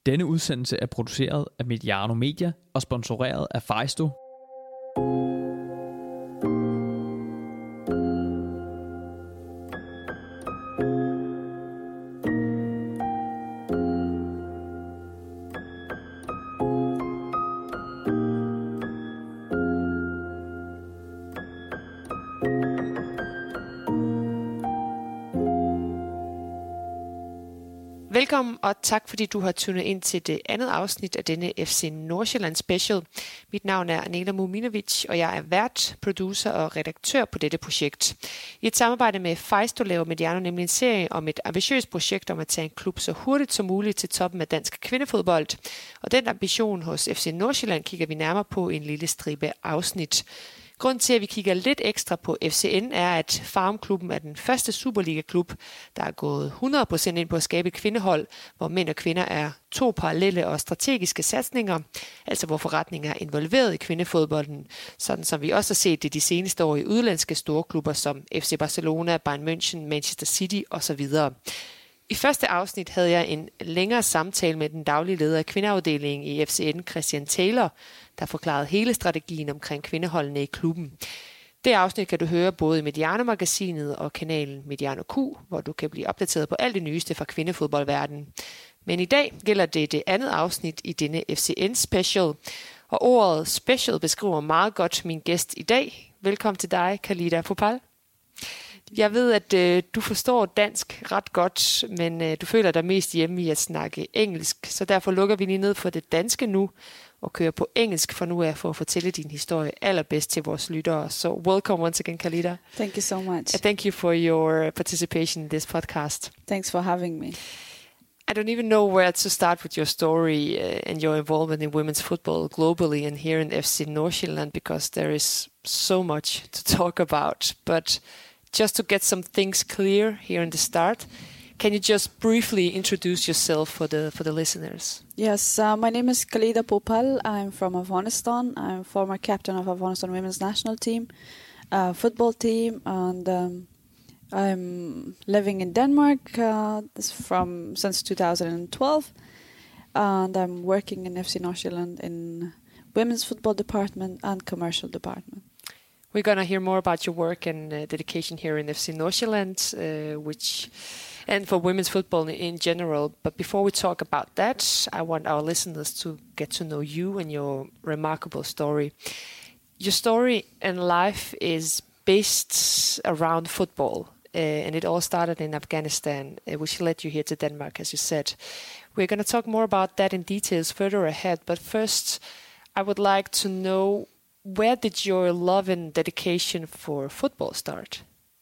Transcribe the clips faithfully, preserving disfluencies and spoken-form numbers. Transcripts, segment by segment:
Denne udsendelse er produceret af Mediano Media og sponsoreret af Fejsto. Velkommen og tak fordi du har tunet ind til det andet afsnit af denne F C Nordsjælland Special. Mit navn er Anela Muminovic, og jeg er vært, producer og redaktør på dette projekt. I et samarbejde med Fejsto laver Mediano nemlig en serie om et ambitiøst projekt om at tage en klub så hurtigt som muligt til toppen af dansk kvindefodbold. Og den ambition hos F C Nordsjælland kigger vi nærmere på i en lille stribe afsnit. Grunden til, at vi kigger lidt ekstra på F C N, er, at Farumklubben er den første Superliga-klub, der er gået hundrede procent ind på at skabe et kvindehold, hvor mænd og kvinder er to parallelle og strategiske satsninger, altså hvor forretninger er involveret i kvindefodbolden, sådan som vi også har set det de seneste år i udlandske storklubber som F C Barcelona, Bayern München, Manchester City osv. I første afsnit havde jeg en længere samtale med den daglige leder af kvindeafdelingen i F C N, Christian Taylor, der forklarede hele strategien omkring kvindeholdene i klubben. Det afsnit kan du høre både i Mediano-magasinet og kanalen Mediano Q, hvor du kan blive opdateret på alt det nyeste fra kvindefodboldverdenen. Men i dag gælder det det andet afsnit i denne F C N Special, og ordet special beskriver meget godt min gæst i dag. Velkommen til dig, Khalida Phopal. Jeg ved, at øh, du forstår dansk ret godt, men øh, du føler dig mest hjemme i at snakke engelsk, så derfor lukker vi lige ned for det danske nu og kører på engelsk for nu af for at fortælle din historie allerbedst til vores lyttere. So welcome once again, Khalida. Thank you so much. And thank you for your participation in this podcast. Thanks for having me. I don't even know where to start with your story uh, and your involvement in women's football globally and here in F C Nordsjælland, because there is so much to talk about. But just to get some things clear here in the start, can you just briefly introduce yourself for the for the listeners? Yes, uh, my name is Khalida Phopal. I'm from Afghanistan. I'm former captain of Afghanistan women's national team, uh, football team, and um, I'm living in Denmark uh, from since two thousand twelve, and I'm working in F C Nordsjælland in women's football department and commercial department. We're going to hear more about your work and uh, dedication here in F C Nordsjælland, uh, which, and for women's football in general. But before we talk about that, I want our listeners to get to know you and your remarkable story. Your story and life is based around football, uh, and it all started in Afghanistan, uh, which led you here to Denmark, as you said. We're going to talk more about that in details further ahead. But first, I would like to know, where did your love and dedication for football start?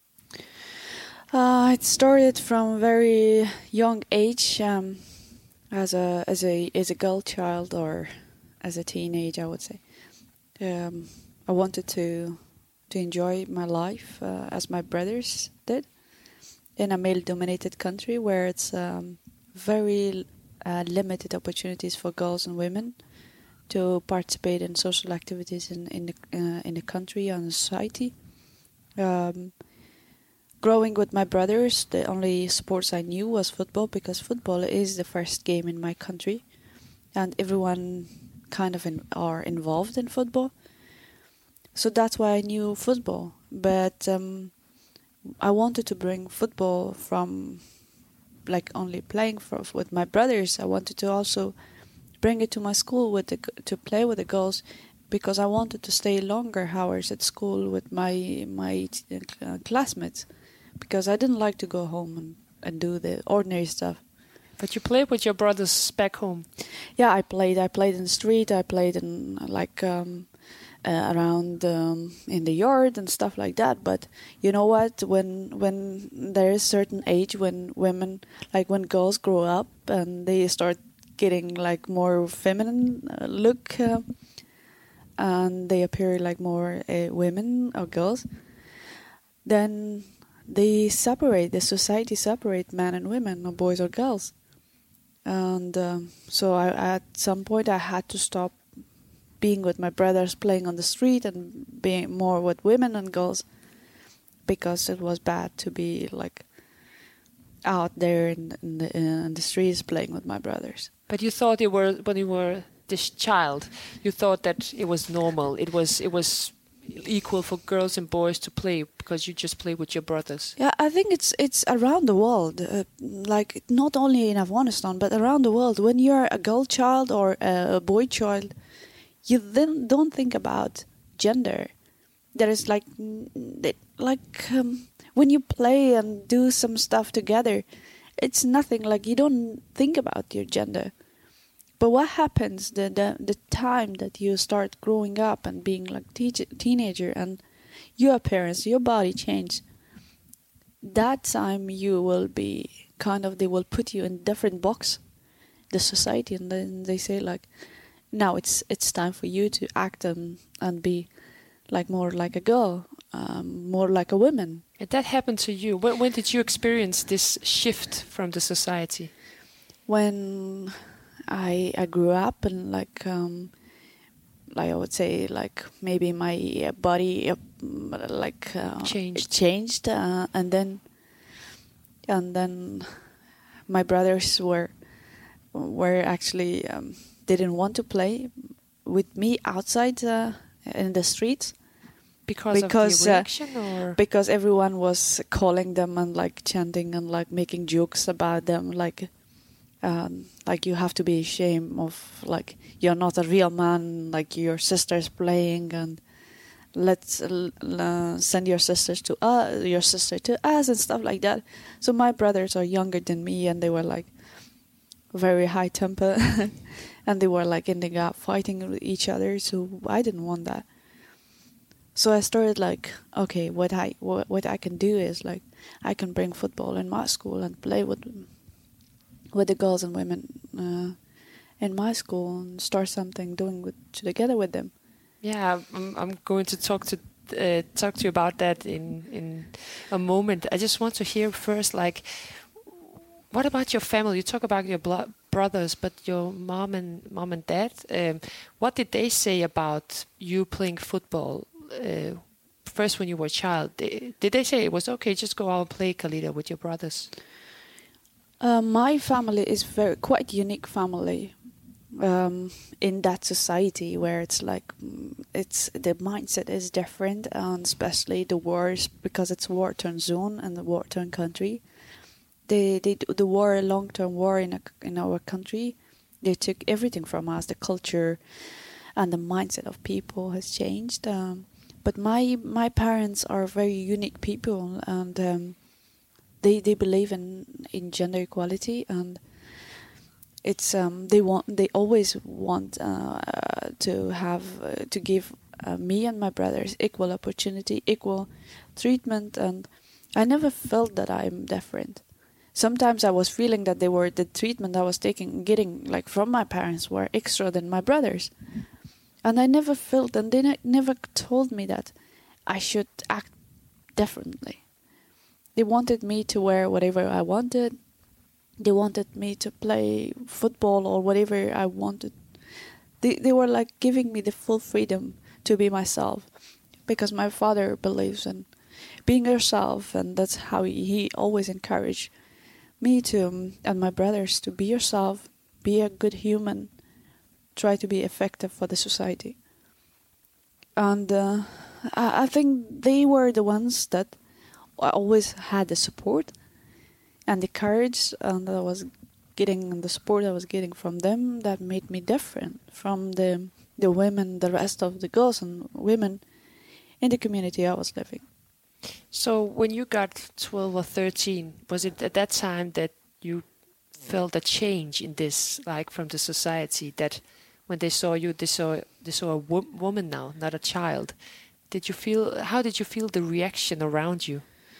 Uh, it started from a very young age, um, as a as a as a girl child or as a teenage, I would say. Um, I wanted to to enjoy my life uh, as my brothers did in a male-dominated country where it's um, very uh, limited opportunities for girls and women to participate in social activities in in the uh, in the country and the society. Um, growing with my brothers, the only sports I knew was football, because football is the first game in my country, and everyone kind of in, are involved in football. So that's why I knew football. But um, I wanted to bring football from like only playing for, with my brothers. I wanted to also bring it to my school with the, to play with the girls, because I wanted to stay longer hours at school with my my uh, classmates, because I didn't like to go home and, and do the ordinary stuff. But you played with your brothers back home. Yeah, I played. I played in the street. I played in like um, uh, around um, in the yard and stuff like that. But you know what? When when there is certain age when women, like when girls grow up and they start getting like more feminine uh, look uh, and they appear like more uh, women or girls, then they separate, the society separate men and women or boys or girls. And um, so I, at some point I had to stop being with my brothers playing on the street and being more with women and girls, because it was bad to be like out there in, in, the, in the streets playing with my brothers. But you thought you were when you were this child, you thought that it was normal. It was it was equal for girls and boys to play because you just play with your brothers. Yeah, I think it's it's around the world, uh, like not only in Afghanistan but around the world. When you're a girl child or a boy child, you then don't think about gender. There is like like um, when you play and do some stuff together, it's nothing. Like you don't think about your gender. But what happens the the, the time that you start growing up and being like te- teenager and your appearance, your body change, that time you will be kind of, they will put you in different box, the society, and then they say like, now it's it's time for you to act and, and be like more like a girl, um, more like a woman. And that happened to you. When, when did you experience this shift from the society? When I I grew up and like um, like I would say like maybe my body uh, like uh, changed changed uh, and then and then my brothers were were actually um, didn't want to play with me outside uh, in the streets because, because of the reaction uh, or because everyone was calling them and like chanting and like making jokes about them like. Um, like you have to be ashamed of like you're not a real man, like your sister's playing, and let's uh, send your sisters to us, your sister to us, and stuff like that. So my brothers are younger than me, and they were like very high temper, and they were like ending up fighting with each other. So I didn't want that. So I started like, okay, what I what, what I can do is like I can bring football in my school and play with. with the girls and women uh, in my school and start something doing with together with them. Yeah, I'm, I'm going to talk to uh, talk to you about that in in a moment. I just want to hear first, like, what about your family? You talk about your blo- brothers, but your mom and mom and dad. Um, what did they say about you playing football? Uh, first, when you were a child, they, did they say it was okay? Just go out and play, Khalida, with your brothers. Uh, my family is very quite unique family um, in that society where it's like it's the mindset is different, and especially the wars because it's war-torn zone and the war-torn country. They they the war long-term war in a, in our country. They took everything from us. The culture and the mindset of people has changed. Um, but my my parents are very unique people and. Um, They they believe in, in gender equality, and it's um they want they always want uh, to have uh, to give uh, me and my brothers equal opportunity, equal treatment, and I never felt that I'm different. Sometimes I was feeling that they were the treatment I was taking getting like from my parents were extra than my brothers, and I never felt and they ne- never told me that I should act differently. They wanted me to wear whatever I wanted. They wanted me to play football or whatever I wanted. They they were like giving me the full freedom to be myself, because my father believes in being yourself, and that's how he, he always encouraged me to um, and my brothers to be yourself, be a good human, try to be effective for the society. And uh, I, I think they were the ones that. I always had the support and the courage and I was getting and the support I was getting from them that made me different from the the women, the rest of the girls and women in the community I was living. So when you got twelve or thirteen, was it at that time that you felt a change in this, like from the society, that when they saw you, they saw they saw a wo- woman now, not a child? Did you feel? How did you feel the reaction around you?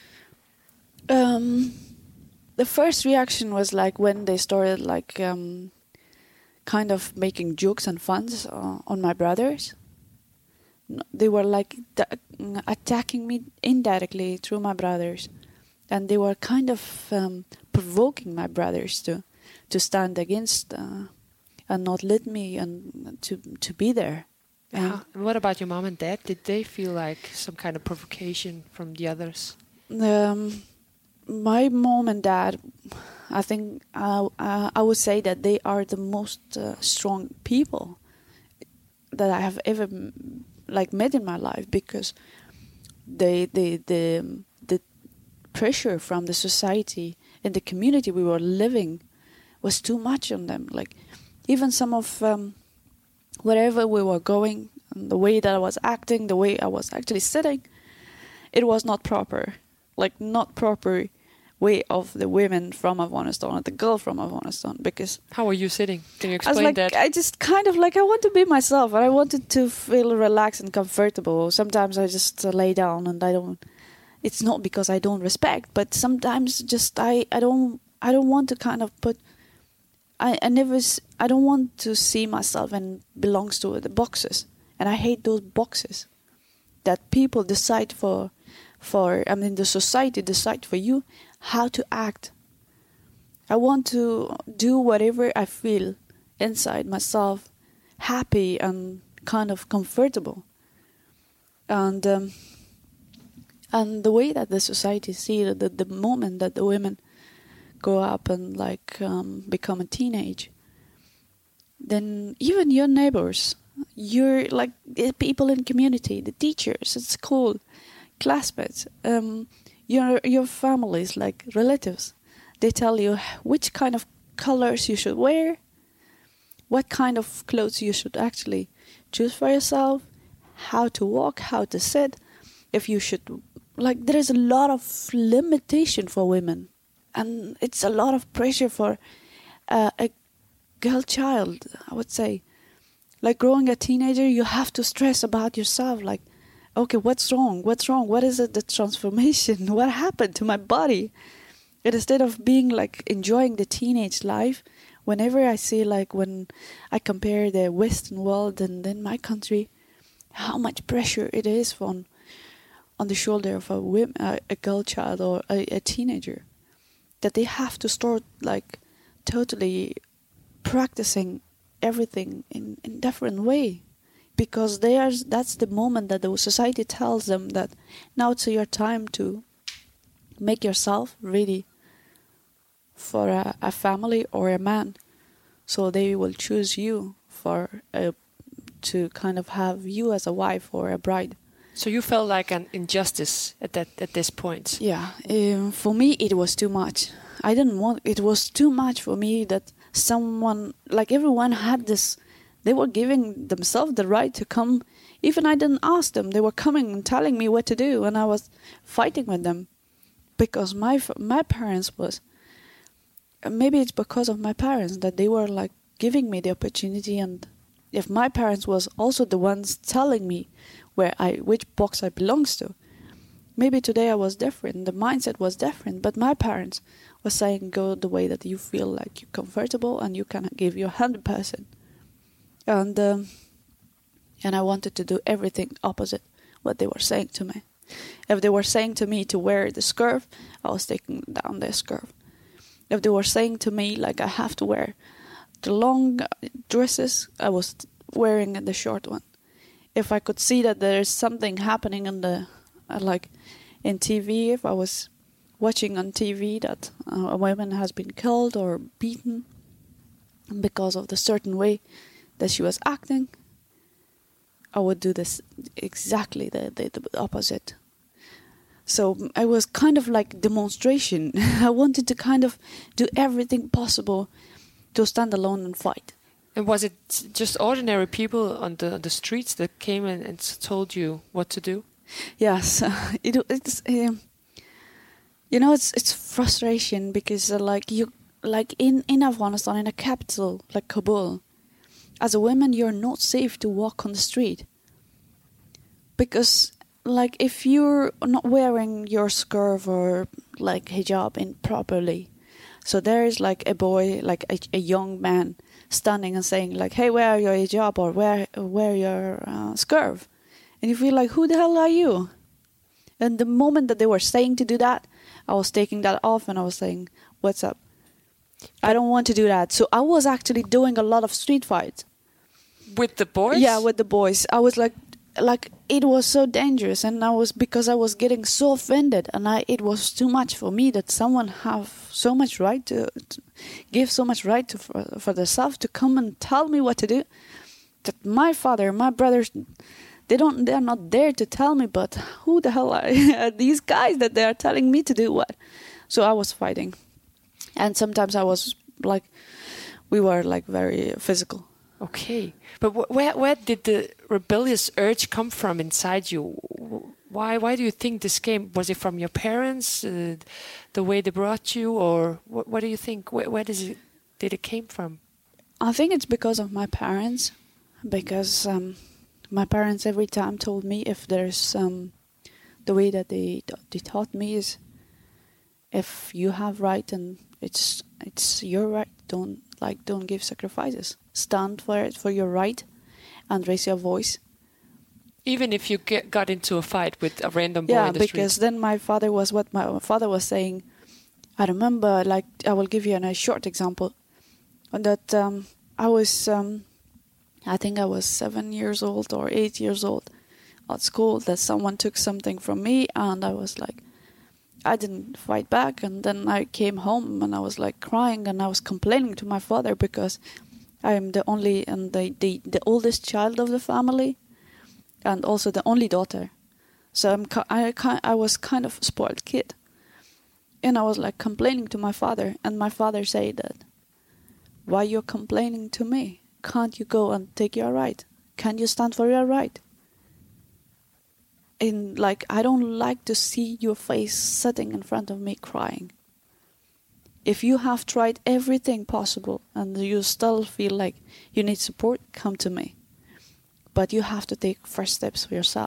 Um, the first reaction was like when they started like um, kind of making jokes and funs uh, on my brothers. They were like da- attacking me indirectly through my brothers, and they were kind of um, provoking my brothers to to stand against uh, and not let me and to to be there. And uh, what about your mom and dad? Did they feel like some kind of provocation from the others? Um, my mom and dad, I think uh, uh, I would say that they are the most uh, strong people that I have ever like met in my life, because they the the the pressure from the society and the community we were living was too much on them. Like even some of um, wherever we were going, and the way that I was acting, the way I was actually sitting, it was not proper. Like not proper way of the women from Afghanistan or the girl from Afghanistan. Because how are you sitting? Can you I explain was like, that? I just kind of like I want to be myself, and I wanted to feel relaxed and comfortable. Sometimes I just uh, lay down, and I don't. It's not because I don't respect, but sometimes just I, I don't I don't want to kind of put. I I never s- I don't want to see myself and belongs to the boxes, and I hate those boxes that people decide for. For I mean, the society decide for you how to act. I want to do whatever I feel inside myself, happy and kind of comfortable. And um, and the way that the society see it, the the moment that the women grow up and like um, become a teenage, then even your neighbors, your like the people in community, the teachers at school, classmates, um, your your families, like relatives, they tell you which kind of colors you should wear, what kind of clothes you should actually choose for yourself, how to walk, how to sit, if you should, like there is a lot of limitation for women, and it's a lot of pressure for uh, a girl child, I would say. Like growing a teenager, you have to stress about yourself, like, okay, what's wrong? What's wrong? What is it, the transformation? What happened to my body? And instead of being like enjoying the teenage life, whenever I see like when I compare the Western world and then my country, how much pressure it is on on the shoulder of a woman, a, a girl child or a, a teenager, that they have to start like totally practicing everything in in different way. Because there's that's the moment that the society tells them that now it's your time to make yourself ready for a, a family or a man. So they will choose you for a, to kind of have you as a wife or a bride. So you felt like an injustice at that at this point. Yeah, um, for me it was too much. I didn't want. It was too much for me that someone like everyone had this. They were giving themselves the right to come. Even I didn't ask them. They were coming and telling me what to do, and I was fighting with them because my my parents was. Maybe it's because of my parents that they were like giving me the opportunity, and if my parents was also the ones telling me where I which box I belongs to, maybe today I was different. The mindset was different, but my parents were saying go the way that you feel like you're comfortable and you can give your hundred percent. And um, and I wanted to do everything opposite what they were saying to me. If they were saying to me to wear the skirt, I was taking down the skirt. If they were saying to me like I have to wear the long dresses, I was wearing the short one. If I could see that there is something happening in the uh, like in T V, if I was watching on T V that uh, a woman has been killed or beaten because of the certain way that she was acting, I would do this exactly the, the, the opposite. So it was kind of like demonstration. I wanted to kind of do everything possible to stand alone and fight. And was it just ordinary people on the on the streets that came and, and told you what to do? Yes, uh, it, it's uh, you know it's it's frustration because uh, like you like in in Afghanistan, in a capital like Kabul, as a woman you're not safe to walk on the street because like if you're not wearing your skirt or like hijab in properly, so there is like a boy, like a, a young man standing and saying like, hey, wear your hijab or wear wear your uh, skirt, and you feel like, who the hell are you? And the moment that they were saying to do that, I was taking that off and I was saying, what's up? I don't want to do that. So I was actually doing a lot of street fights with the boys. Yeah, with the boys. I was like like it was so dangerous, and I was because I was getting so offended, and I it was too much for me that someone have so much right to, to give so much right to for, for themselves to come and tell me what to do. That my father, my brothers, they don't, they're not there to tell me. But who the hell are these guys that they are telling me to do what? So I was fighting, and sometimes I was like, we were like very physical. Okay, but wh- where where did the rebellious urge come from inside you? Why why do you think this came? Was it from your parents, uh, the way they brought you, or what? What do you think? Where, where does it did it came from? I think it's because of my parents, because um, my parents every time told me if there's um, the way that they they taught me is if you have right and it's it's your right, don't like don't give sacrifices. Stand for it, for your right, and raise your voice. Even if you get, got into a fight with a random boy yeah, in the because street. then my father was what my father was saying. I remember, like, I will give you a nice short example. That um, I was, um, I think I was seven years old or eight years old at school. That someone took something from me, and I was like, I didn't fight back. And then I came home and I was like crying, and I was complaining to my father because I am the only and the, the, the oldest child of the family, and also the only daughter. So I'm I I was kind of a spoiled kid, and I was like complaining to my father, and my father said that, "Why you're complaining to me? Can't you go and take your right? Can't you stand for your right?" And like, I don't like to see your face sitting in front of me crying. If you have tried everything possible and you still feel like you need support, come to me. But you have to take first steps for yourself.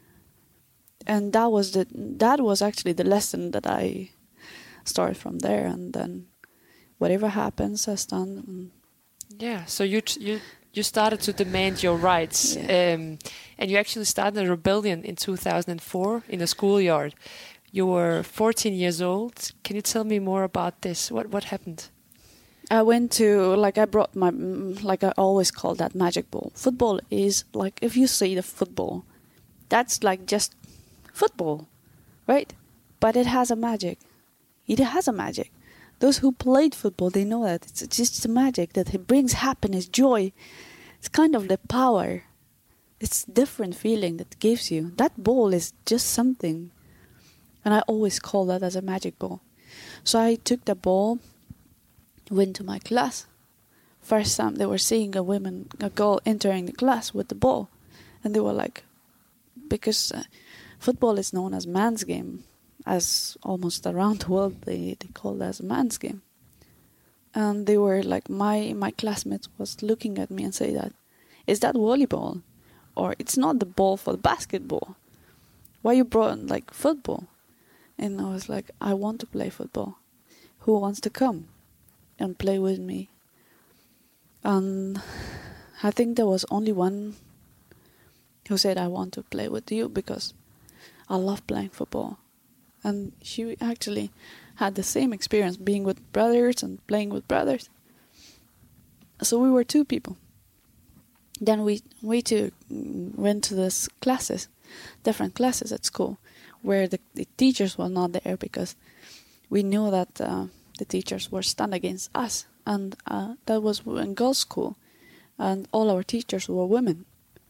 And that was the that was actually the lesson that I started from there. And then whatever happens, I stand. And yeah. So you t- you you started to demand your rights, Yeah. um, and you actually started a rebellion in two thousand four in a schoolyard. You were fourteen years old. Can you tell me more about this? What what happened? I went to, like, I brought my, like I always call that magic ball. Football is, like, if you see the football, that's like just football, right? But it has a magic. It has a magic. Those who played football, they know that. It's just a magic that it brings happiness, joy. It's kind of the power. It's different feeling that it gives you. That ball is just something. And I always call that as a magic ball. So I took the ball, went to my class. First time they were seeing a woman, a girl entering the class with the ball. And they were like, because uh, football is known as man's game, as almost around the world they, they call it as a man's game. And they were like, my, my classmates was looking at me and say that, is that volleyball? Or it's not the ball for the basketball. Why you brought like football? And I was like, I want to play football. Who wants to come and play with me? And I think there was only one who said, I want to play with you because I love playing football. And she actually had the same experience being with brothers and playing with brothers. So we were two people. Then we, we two went to these classes, different classes at school, where the, the teachers were not there because we knew that uh, the teachers were stand against us. And uh, that was in girls' school. And all our teachers were women.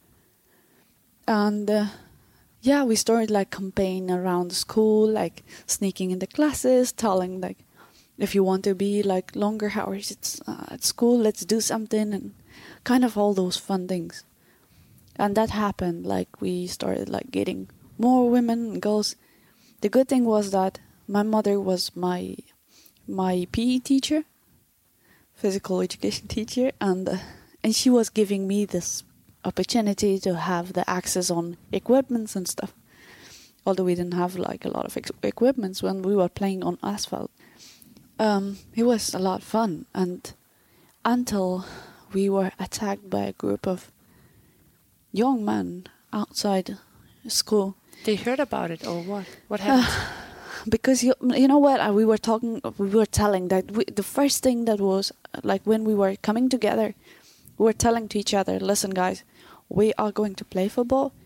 And uh, yeah, we started like campaign around the school, like sneaking in the classes, telling like, if you want to be like longer hours at, uh, at school, let's do something, and kind of all those fun things. And that happened, like we started like getting more women and girls. The good thing was that my mother was my my P E teacher, physical education teacher, and uh, and she was giving me this opportunity to have the access on equipments and stuff. Although we didn't have like a lot of ex- equipments when we were playing on asphalt. Um, it was a lot of fun, and until we were attacked by a group of young men outside school. They heard about it, or what? What happened? Uh, because you, you know what, uh, we were talking, we were telling that we, the first thing that was uh, like when we were coming together, we were telling to each other, listen guys, we are going to play football,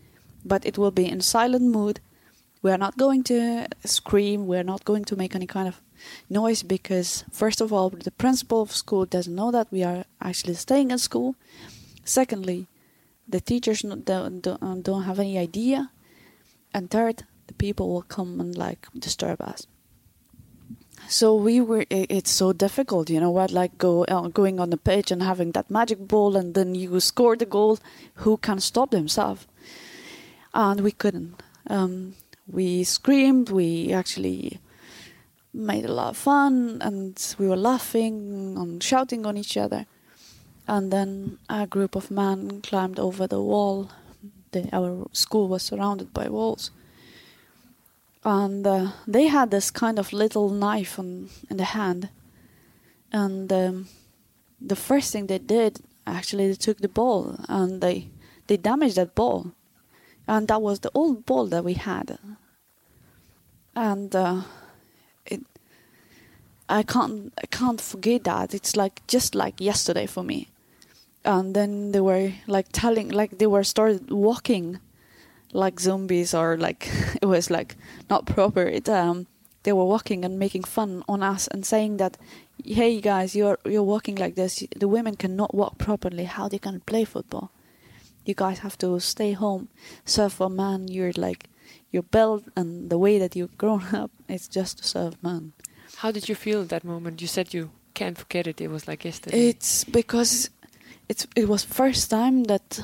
but it will be in silent mood. We are not going to scream. We are not going to make any kind of noise because, first of all, the principal of school doesn't know that we are actually staying at school. Secondly, the teachers don't, don't, don't have any idea. And third, the people will come and like disturb us. So we were. It's so difficult, you know what? Like go uh, going on the pitch and having that magic ball, and then you score the goal. Who can stop themselves? And we couldn't. Um, we screamed. We actually made a lot of fun, and we were laughing and shouting on each other. And then a group of men climbed over the wall. The, our school was surrounded by walls. And uh, they had this kind of little knife on, in the hand. And um, the first thing they did, actually, they took the ball and they, they damaged that ball. And that was the old ball that we had. And uh, it, I can't, I can't forget that. It's like just like yesterday for me. And then they were like telling, like they were started walking like zombies, or like it was like not proper. It um they were walking and making fun on us and saying that, hey guys, you're you're walking like this. The women cannot walk properly. How they can play football? You guys have to stay home. Serve for man. You're like you're built and the way that you've grown up. It's just to serve man. How did you feel at that moment? You said you can't forget it. It was like yesterday. It's because it's it was first time that.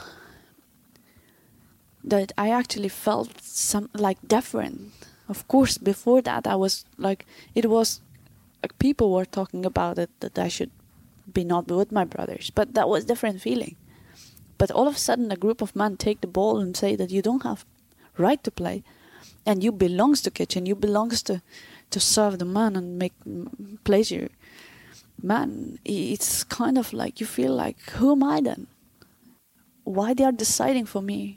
that I actually felt some like different. Of course, before that I was like, it was like people were talking about it, that I should be not with my brothers, but that was different feeling. But all of a sudden a group of men take the ball and say that you don't have right to play, and you belongs to kitchen, you belongs to, to serve the man and make pleasure. Man, it's kind of like you feel like, who am I then? Why they are deciding for me?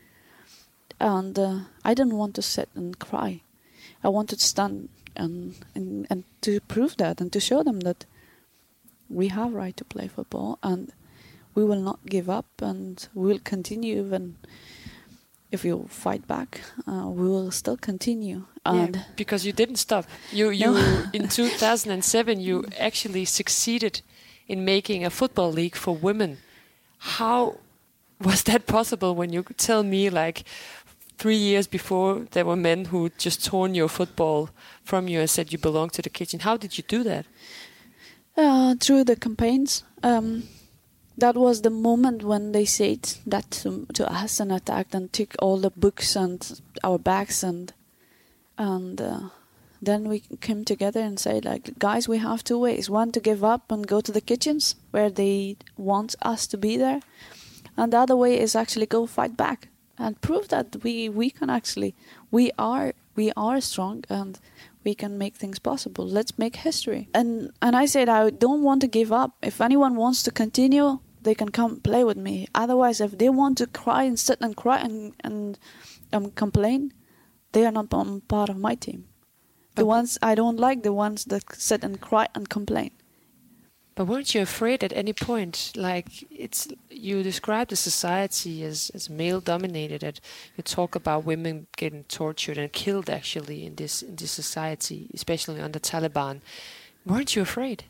And uh, I didn't want to sit and cry. I wanted to stand and, and and to prove that and to show them that we have right to play football and we will not give up and we will continue. Even if you fight back, uh, we will still continue. And yeah, because you didn't stop. You you No. in two thousand seven you actually succeeded in making a football league for women. How was that possible? When you tell me like. Three years before, there were men who just torn your football from you and said you belong to the kitchen. How did you do that? Uh, through the campaigns. Um, that was the moment when they said that to, to us and attacked and took all the books and our bags. And and uh, then we came together and said, like, guys, we have two ways. One, to give up and go to the kitchens where they want us to be there. And the other way is actually go fight back. And prove that we, we can actually we are we are strong and we can make things possible. Let's make history. And and I said I don't want to give up. If anyone wants to continue, they can come play with me. Otherwise, if they want to cry and sit and cry and and um, complain, they are not um, part of my team. The But ones I don't like, the ones that sit and cry and complain. But weren't you afraid at any point? Like it's you describe the society as, as male dominated. And you talk about women getting tortured and killed actually in this in this society, especially under Taliban. Weren't you afraid?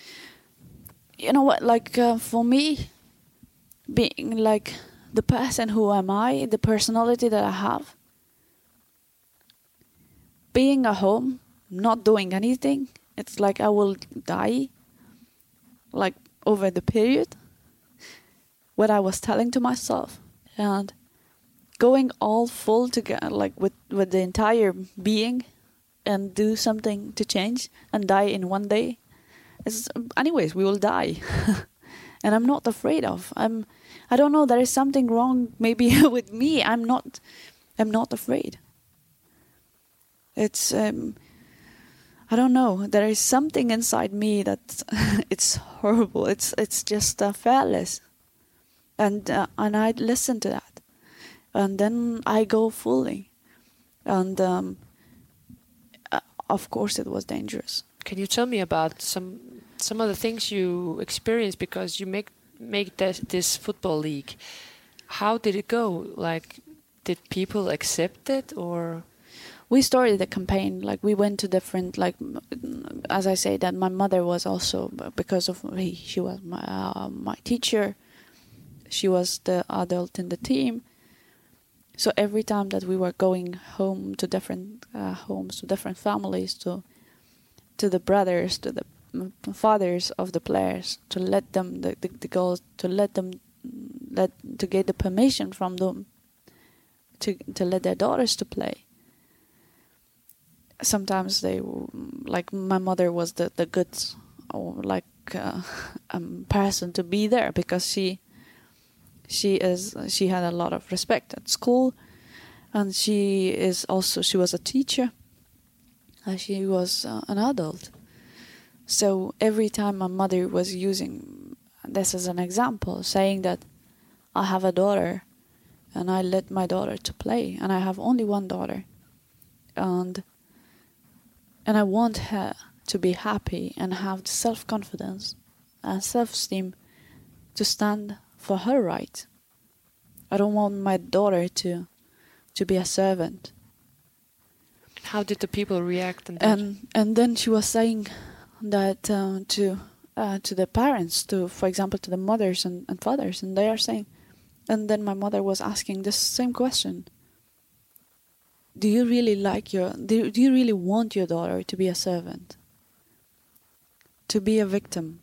You know what? Like uh, for me, being like the person who am I, the personality that I have, being at home, not doing anything, it's like I will die. Like over the period, what I was telling to myself, and going all full together, like with, with the entire being, and do something to change and die in one day. It's, anyways, we will die, and I'm not afraid of. I'm, I don't know. There is something wrong maybe with me. I'm not, I'm not afraid. It's. Um, I don't know. There is something inside me that it's horrible. It's it's just uh, fearless, and uh, and I listen to that, and then I go fully, and um, uh, of course it was dangerous. Can you tell me about some some of the things you experienced because you make make this, this football league? How did it go? Like, did people accept it, or? We started the campaign, like we went to different, like, as I say, that my mother was also, because of, he, she was my, uh, my teacher, she was the adult in the team. So every time that we were going home to different uh, homes, to different families, to to the brothers, to the fathers of the players, to let them, the, the, the girls, to let them, let to get the permission from them, to to let their daughters to play. Sometimes they, like my mother was the, the good, or like uh, um, person to be there, because she she is she had a lot of respect at school, and she is also she was a teacher, and she was uh, an adult. So every time my mother was using this as an example, saying that I have a daughter, and I let my daughter to play, and I have only one daughter, and And I want her to be happy and have the self-confidence and self-esteem to stand for her right. I don't want my daughter to to be a servant. How did the people react? And And and then she was saying that uh, to uh, to the parents, to for example to the mothers and, and fathers, and they are saying, and then my mother was asking this same question. Do you really like your, do, do you really want your daughter to be a servant? To be a victim?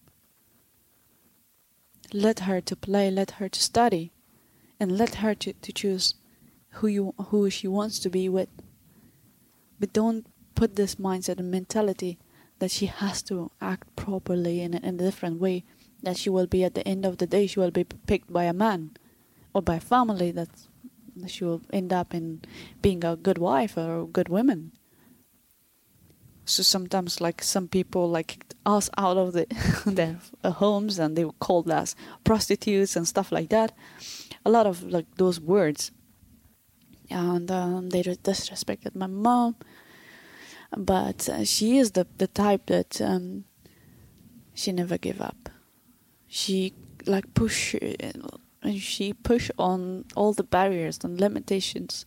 Let her to play, let her to study, and let her to, to choose who you who she wants to be with. But don't put this mindset and mentality that she has to act properly in a, in a different way, that she will be at the end of the day, she will be picked by a man or by a family that's she will end up in being a good wife or a good woman. So sometimes, like, some people like kicked us out of the their homes, and they were called as prostitutes and stuff like that. A lot of like those words, and um, they disrespected my mom. But uh, she is the the type that um, she never give up. She like push. Uh, And she pushed on all the barriers and limitations,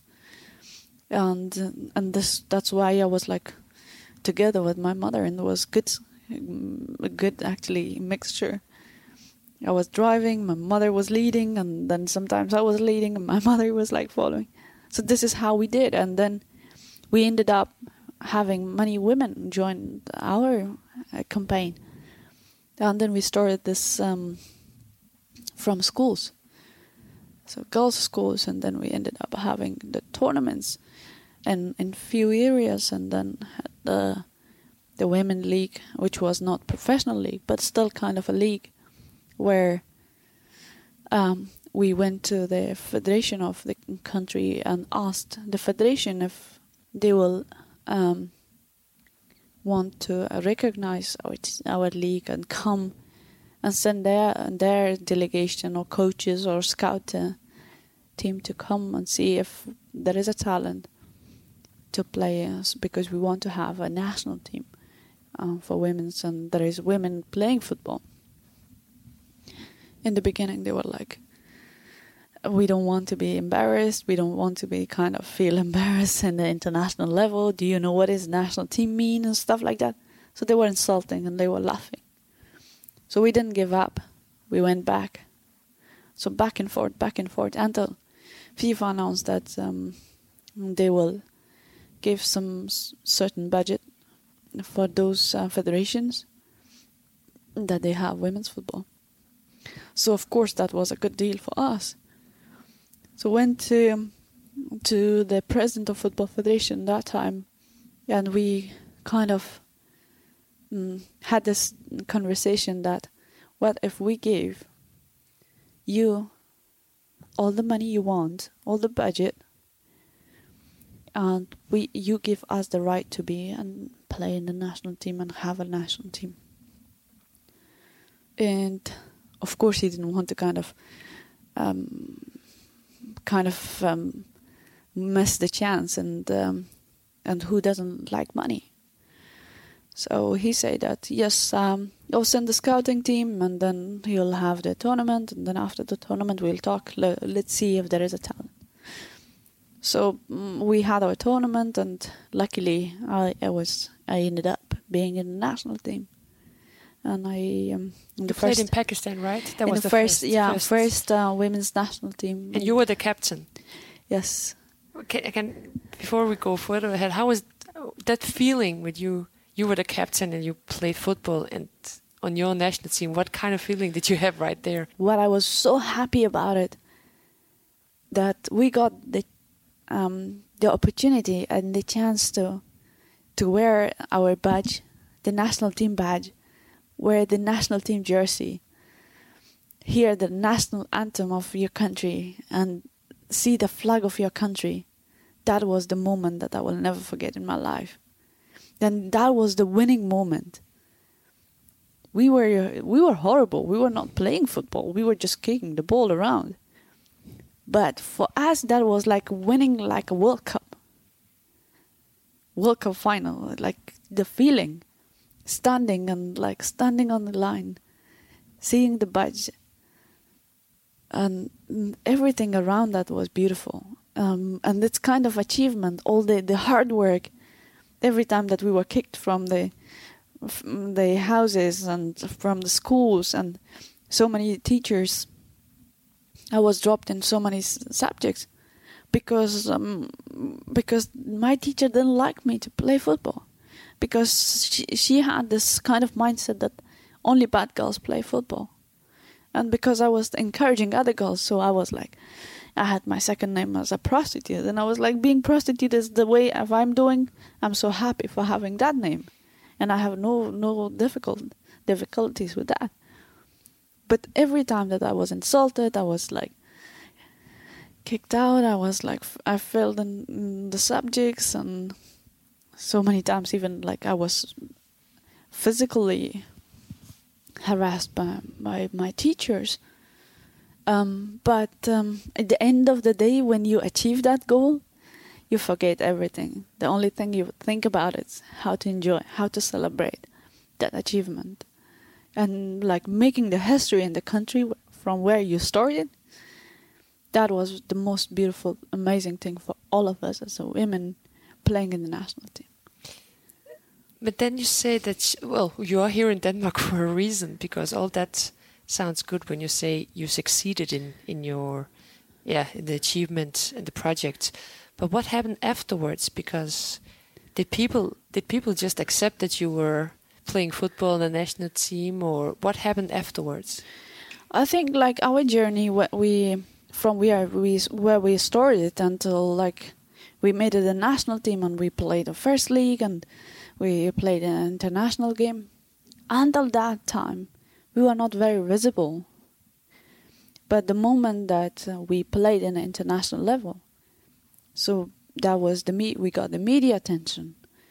and and this that's why I was like together with my mother, and it was good, a good actually mixture. I was driving, my mother was leading, and then sometimes I was leading, and my mother was like following. So this is how we did, and then we ended up having many women join our uh, campaign, and then we started this um, from schools. So girls' schools, and then we ended up having the tournaments in in few areas, and then had the the women league, which was not professional league, but still kind of a league, where um, we went to the federation of the country and asked the federation if they will um, want to recognize our our league and come and send their their delegation or coaches or scout uh, team to come and see if there is a talent to play us, because we want to have a national team uh, for women's, and there is women playing football. In the beginning, they were like, we don't want to be embarrassed. We don't want to be kind of feel embarrassed in the international level. Do you know what is national team mean and stuff like that? So they were insulting and they were laughing. So we didn't give up. We went back. So back and forth, back and forth, until FIFA announced that um, they will give some s- certain budget for those uh, federations that they have women's football. So of course that was a good deal for us. So went to um, to the president of Football Federation that time, and we kind of mm, had this conversation that, what if we gave you all the money you want, all the budget, and we you give us the right to be and play in the national team and have a national team. And of course he didn't want to kind of um, kind of um, miss the chance, and um, and who doesn't like money? So he said that, yes, um, I'll send the scouting team, and then he'll have the tournament, and then after the tournament we'll talk. Le- let's see if there is a talent. So mm, we had our tournament, and luckily I, I was I ended up being in the national team. And I um, in You the played first in Pakistan, right? That in was the, the first, first, yeah first. first uh, women's national team. And you were the captain. Yes. Okay, I can, before we go further ahead, how was that feeling with you? You were the captain and you played football and on your national team. What kind of feeling did you have right there? What I was so happy about it, that we got the um, the opportunity and the chance to to wear our badge, the national team badge, wear the national team jersey, hear the national anthem of your country, and see the flag of your country. That was the moment that I will never forget in my life. Then that was the winning moment. We were we were horrible. We were not playing football. We were just kicking the ball around. But for us, that was like winning like a World Cup. World Cup final, like the feeling. Standing and like standing on the line. Seeing the badge. And everything around that was beautiful. Um, and it's kind of achievement, all the, the hard work. Every time that we were kicked from the from the houses and from the schools, and so many teachers, I was dropped in so many s- subjects because um, because my teacher didn't like me to play football, because she, she had this kind of mindset that only bad girls play football, and because I was encouraging other girls, so I was like, I had my second name as a prostitute, and I was like, being prostitute is the way if I'm doing, I'm so happy for having that name, and I have no no difficult difficulties with that. But every time that I was insulted, I was like kicked out. I was like, I failed in, in the subjects, and so many times even like I was physically harassed by by my teachers. Um, but um, at the end of the day, when you achieve that goal, you forget everything. The only thing you think about is how to enjoy, how to celebrate that achievement. And like making the history in the country from where you started, that was the most beautiful, amazing thing for all of us as a women playing in the national team. But then you say that, well, you are here in Denmark for a reason, because all that sounds good when you say you succeeded in, in your, yeah, in the achievement and the project. But what happened afterwards? Because did people did people just accept that you were playing football in the national team, or what happened afterwards? I think like our journey, what we from where we where we started until like we made it a national team and we played the first league and we played an international game. Until that time, we were not very visible. But the moment that uh, we played in an international level, so that was the me- we got the media attention,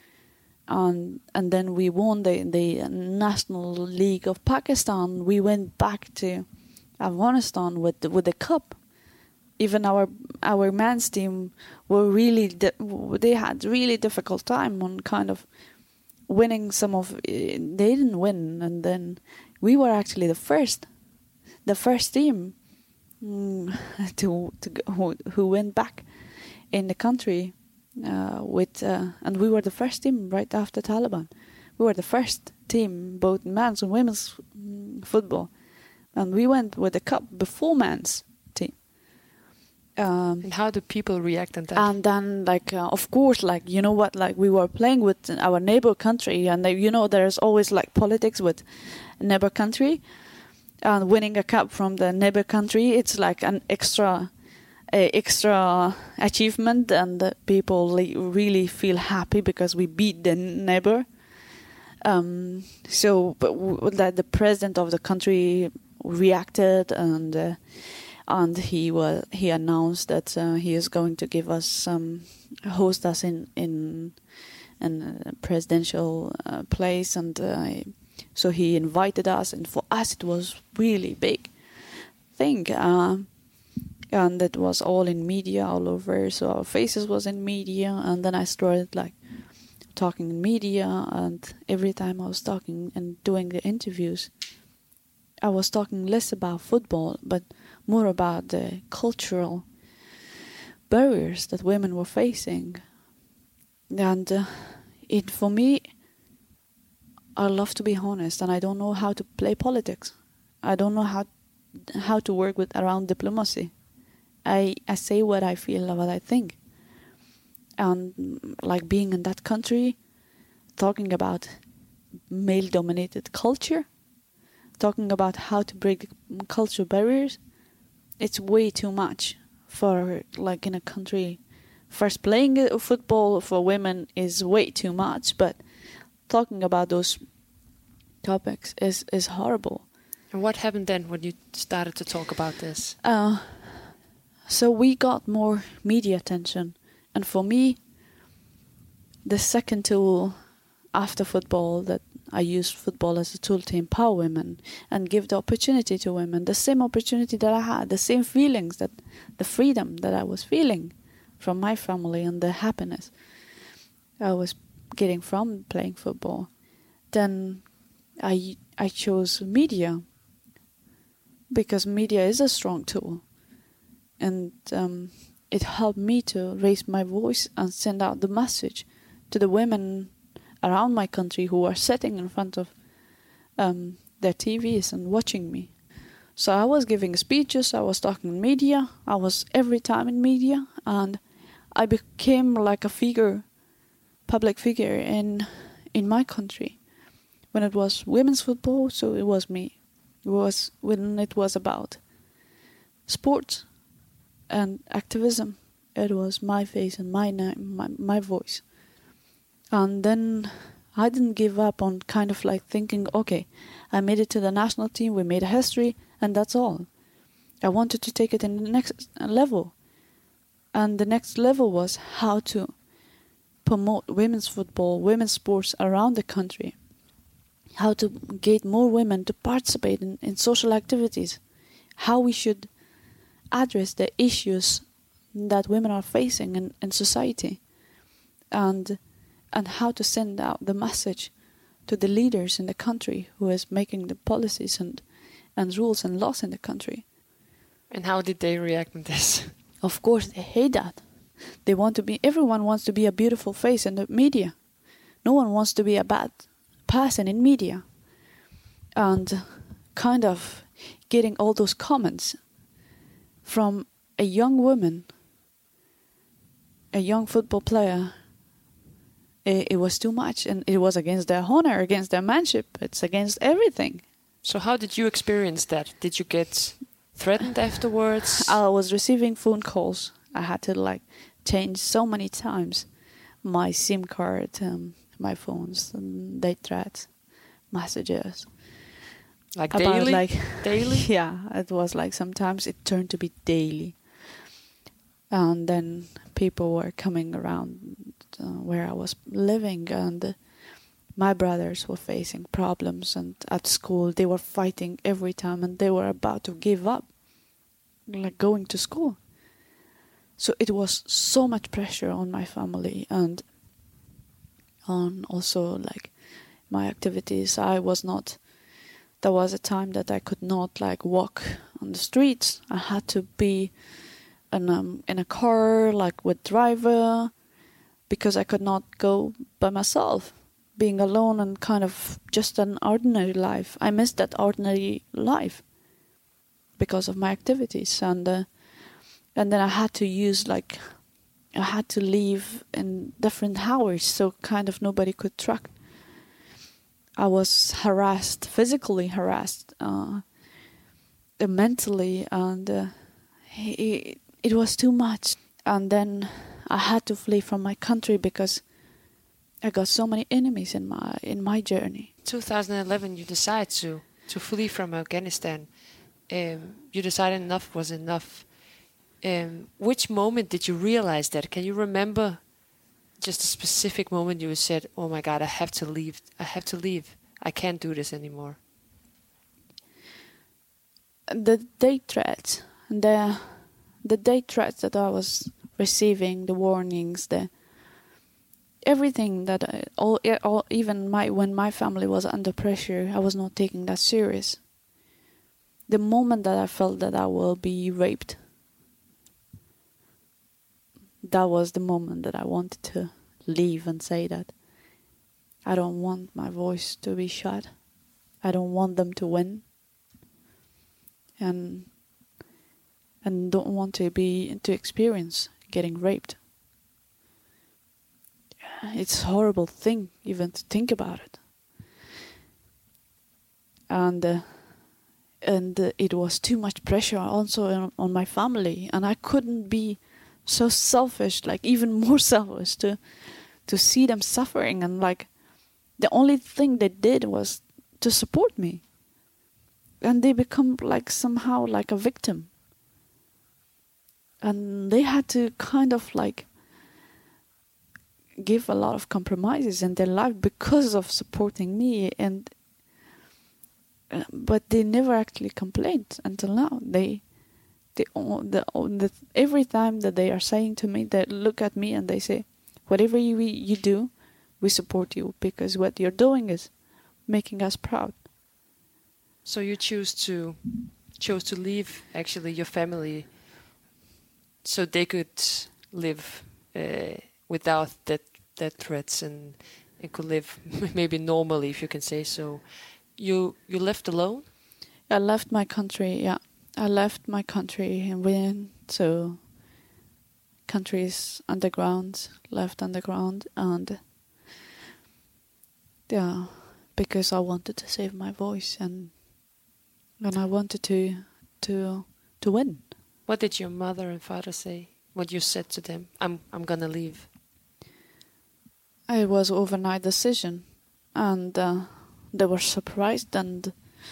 and and then we won the the National League of Pakistan. We went back to Afghanistan with the, with the cup. Even our our men's team were really di- they had really difficult time on kind of winning some of. Uh, they didn't win, and then we were actually the first, the first team mm, to to go, who, who went back in the country uh, with, uh, and we were the first team right after Taliban. We were the first team, both men's and women's mm, football, and we went with the cup before men's team. Um, And how do people react on that? and then, like, uh, of course, like, you know what, like, we were playing with our neighbor country, and, they, you know, there's always, like, politics with neighbor country, and winning a cup from the neighbor country, it's like an extra uh, extra achievement, and uh, people like, really feel happy because we beat the neighbor. Um, so, but w- that the president of the country reacted, and uh, and he was he announced that uh, he is going to give us some host us in in in a presidential uh, place, and uh, so he invited us, and for us it was really big thing, uh, and it was all in media all over. So our faces was in media, and then I started like talking in media, and every time I was talking and doing the interviews, I was talking less about football, but more about the cultural barriers that women were facing. And uh, it for me, I love to be honest, and I don't know how to play politics. I don't know how how to work with around diplomacy. I I say what I feel, what I think. And like being in that country, talking about male-dominated culture, talking about how to break cultural barriers, it's way too much for like in a country. First, playing football for women is way too much, but talking about those topics is, is horrible. And what happened then when you started to talk about this? Uh, so we got more media attention. And for me, the second tool after football that I used football as a tool to empower women and give the opportunity to women, the same opportunity that I had, the same feelings, that the freedom that I was feeling from my family and the happiness I was getting from playing football. Then I I chose media because media is a strong tool, and um, it helped me to raise my voice and send out the message to the women around my country who are sitting in front of um, their T Vs and watching me. So I was giving speeches, I was talking in media, I was every time in media, and I became like a figure, public figure in in my country. When it was women's football, so it was me. It was when it was about sports and activism, it was my face and my name, my, my voice. And then I didn't give up on kind of like thinking, okay, I made it to the national team, we made a history, and that's all. I wanted to take it in the next level. And the next level was how to promote women's football, women's sports around the country. How to get more women to participate in, in social activities. How we should address the issues that women are facing in, in society. And and how to send out the message to the leaders in the country who is making the policies and, and rules and laws in the country. And how did they react to this? Of course, they hate that. They want to be, everyone wants to be a beautiful face in the media. No one wants to be a bad person in media. And kind of getting all those comments from a young woman, a young football player, it, it was too much, and it was against their honor, against their manship. It's against everything. So how did you experience that? Did you get threatened afterwards? I was receiving phone calls. I had to like change so many times my SIM card, um, my phones, and they threats, messages. Like about daily? Like daily? Yeah, it was like sometimes it turned to be daily. And then people were coming around uh, where I was living, and uh, my brothers were facing problems, and at school they were fighting every time, and they were about to give up, like going to school. So it was so much pressure on my family and on also like my activities. I was not, there was a time that I could not like walk on the streets. I had to be in, um, in a car like with driver, because I could not go by myself, being alone and kind of just an ordinary life. I missed that ordinary life because of my activities. And uh, and then I had to use like, I had to leave in different hours, so kind of nobody could track. I was harassed, physically harassed, uh, uh, mentally, and uh, it, it was too much. And then I had to flee from my country because I got so many enemies in my in my journey. twenty eleven, you decided to to flee from Afghanistan. Um, you decided enough was enough. Um, which moment did you realize that? Can you remember just a specific moment you said, "Oh my God, I have to leave. I have to leave. I can't do this anymore"? The death threats, the the death threats that I was receiving, the warnings, the everything that I, all, all even my when my family was under pressure, I was not taking that serious. The moment that I felt that I will be raped, that was the moment that I wanted to leave and say that I don't want my voice to be shut. I don't want them to win. And and don't want to be to experience getting raped. It's a horrible thing even to think about it. And uh, and uh, it was too much pressure also on, on my family, and I couldn't be so selfish, like even more selfish, to to see them suffering, and like the only thing they did was to support me, and they become like somehow like a victim, and they had to kind of like give a lot of compromises in their life because of supporting me, and uh, but they never actually complained until now. They they the, the every time that they are saying to me, they look at me and they say, whatever you you do, we support you, because what you're doing is making us proud. So you choose to chose to leave actually your family so they could live uh, without that that threats, and, and could live maybe normally, if you can say so. You you left alone? I left my country, yeah. I left my country and went to countries underground, left underground, and yeah, because I wanted to save my voice, and and I wanted to to to win. What did your mother and father say when you said to them, I'm I'm gonna leave? It was an overnight decision, and uh, they were surprised, and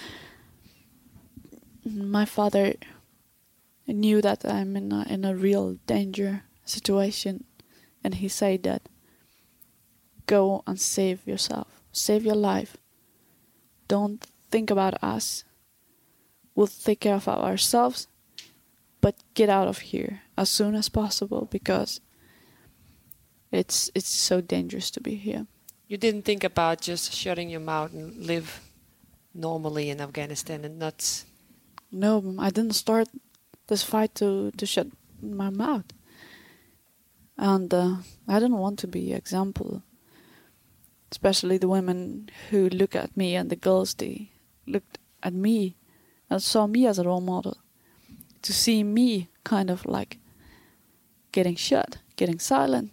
my father knew that I'm in a, in a real danger situation, and he said that, go and save yourself, save your life. Don't think about us. We'll take care of ourselves, but get out of here as soon as possible, because it's it's so dangerous to be here. You didn't think about just shutting your mouth and live normally in Afghanistan and not... No, I didn't start this fight to, to shut my mouth. And uh, I didn't want to be an example. Especially the women who look at me, and the girls, they looked at me and saw me as a role model. To see me kind of like getting shut, getting silent.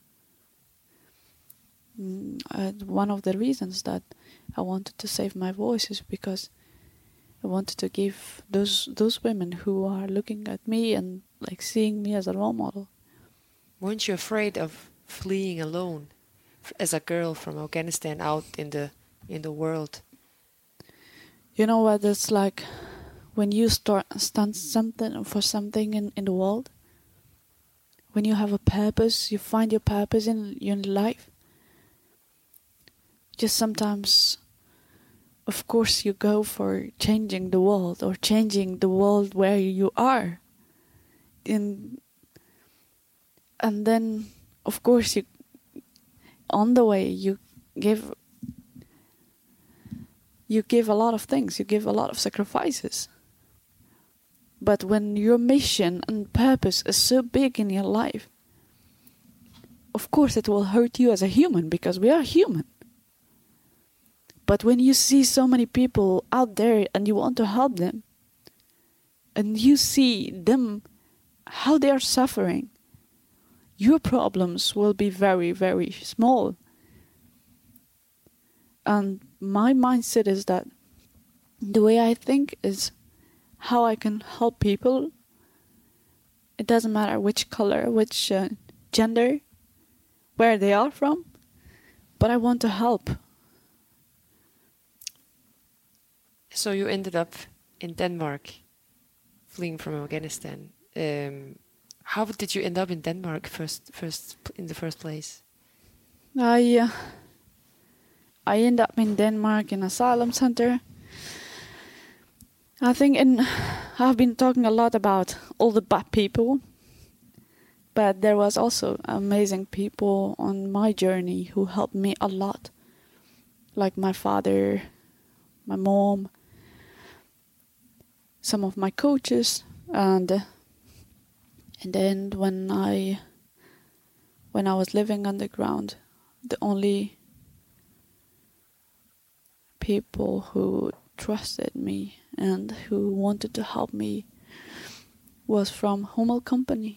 Mm, uh, one of the reasons that I wanted to save my voice is because I wanted to give those those women who are looking at me and like seeing me as a role model. Weren't you afraid of fleeing alone as a girl from Afghanistan out in the in the world? You know what it's like when you start stand something for something in, in the world. When you have a purpose, you find your purpose in your life. Just sometimes, of course, you go for changing the world, or changing the world where you are. In, and then, of course, you on the way you give you give a lot of things. You give a lot of sacrifices. But when your mission and purpose is so big in your life, of course it will hurt you as a human, because we are human. But when you see so many people out there and you want to help them, and you see them, how they are suffering, your problems will be very, very small. And my mindset is that the way I think is how I can help people. It doesn't matter which color, which uh, gender, where they are from, but I want to help. So you ended up in Denmark, fleeing from Afghanistan. Um, how did you end up in Denmark first, first in the first place? I uh, I ended up in Denmark in asylum center. I think in I've been talking a lot about all the bad people, but there was also amazing people on my journey who helped me a lot, like my father, my mom, some of my coaches, and and then when I when I was living underground, the only people who trusted me and who wanted to help me was from Hummel Company.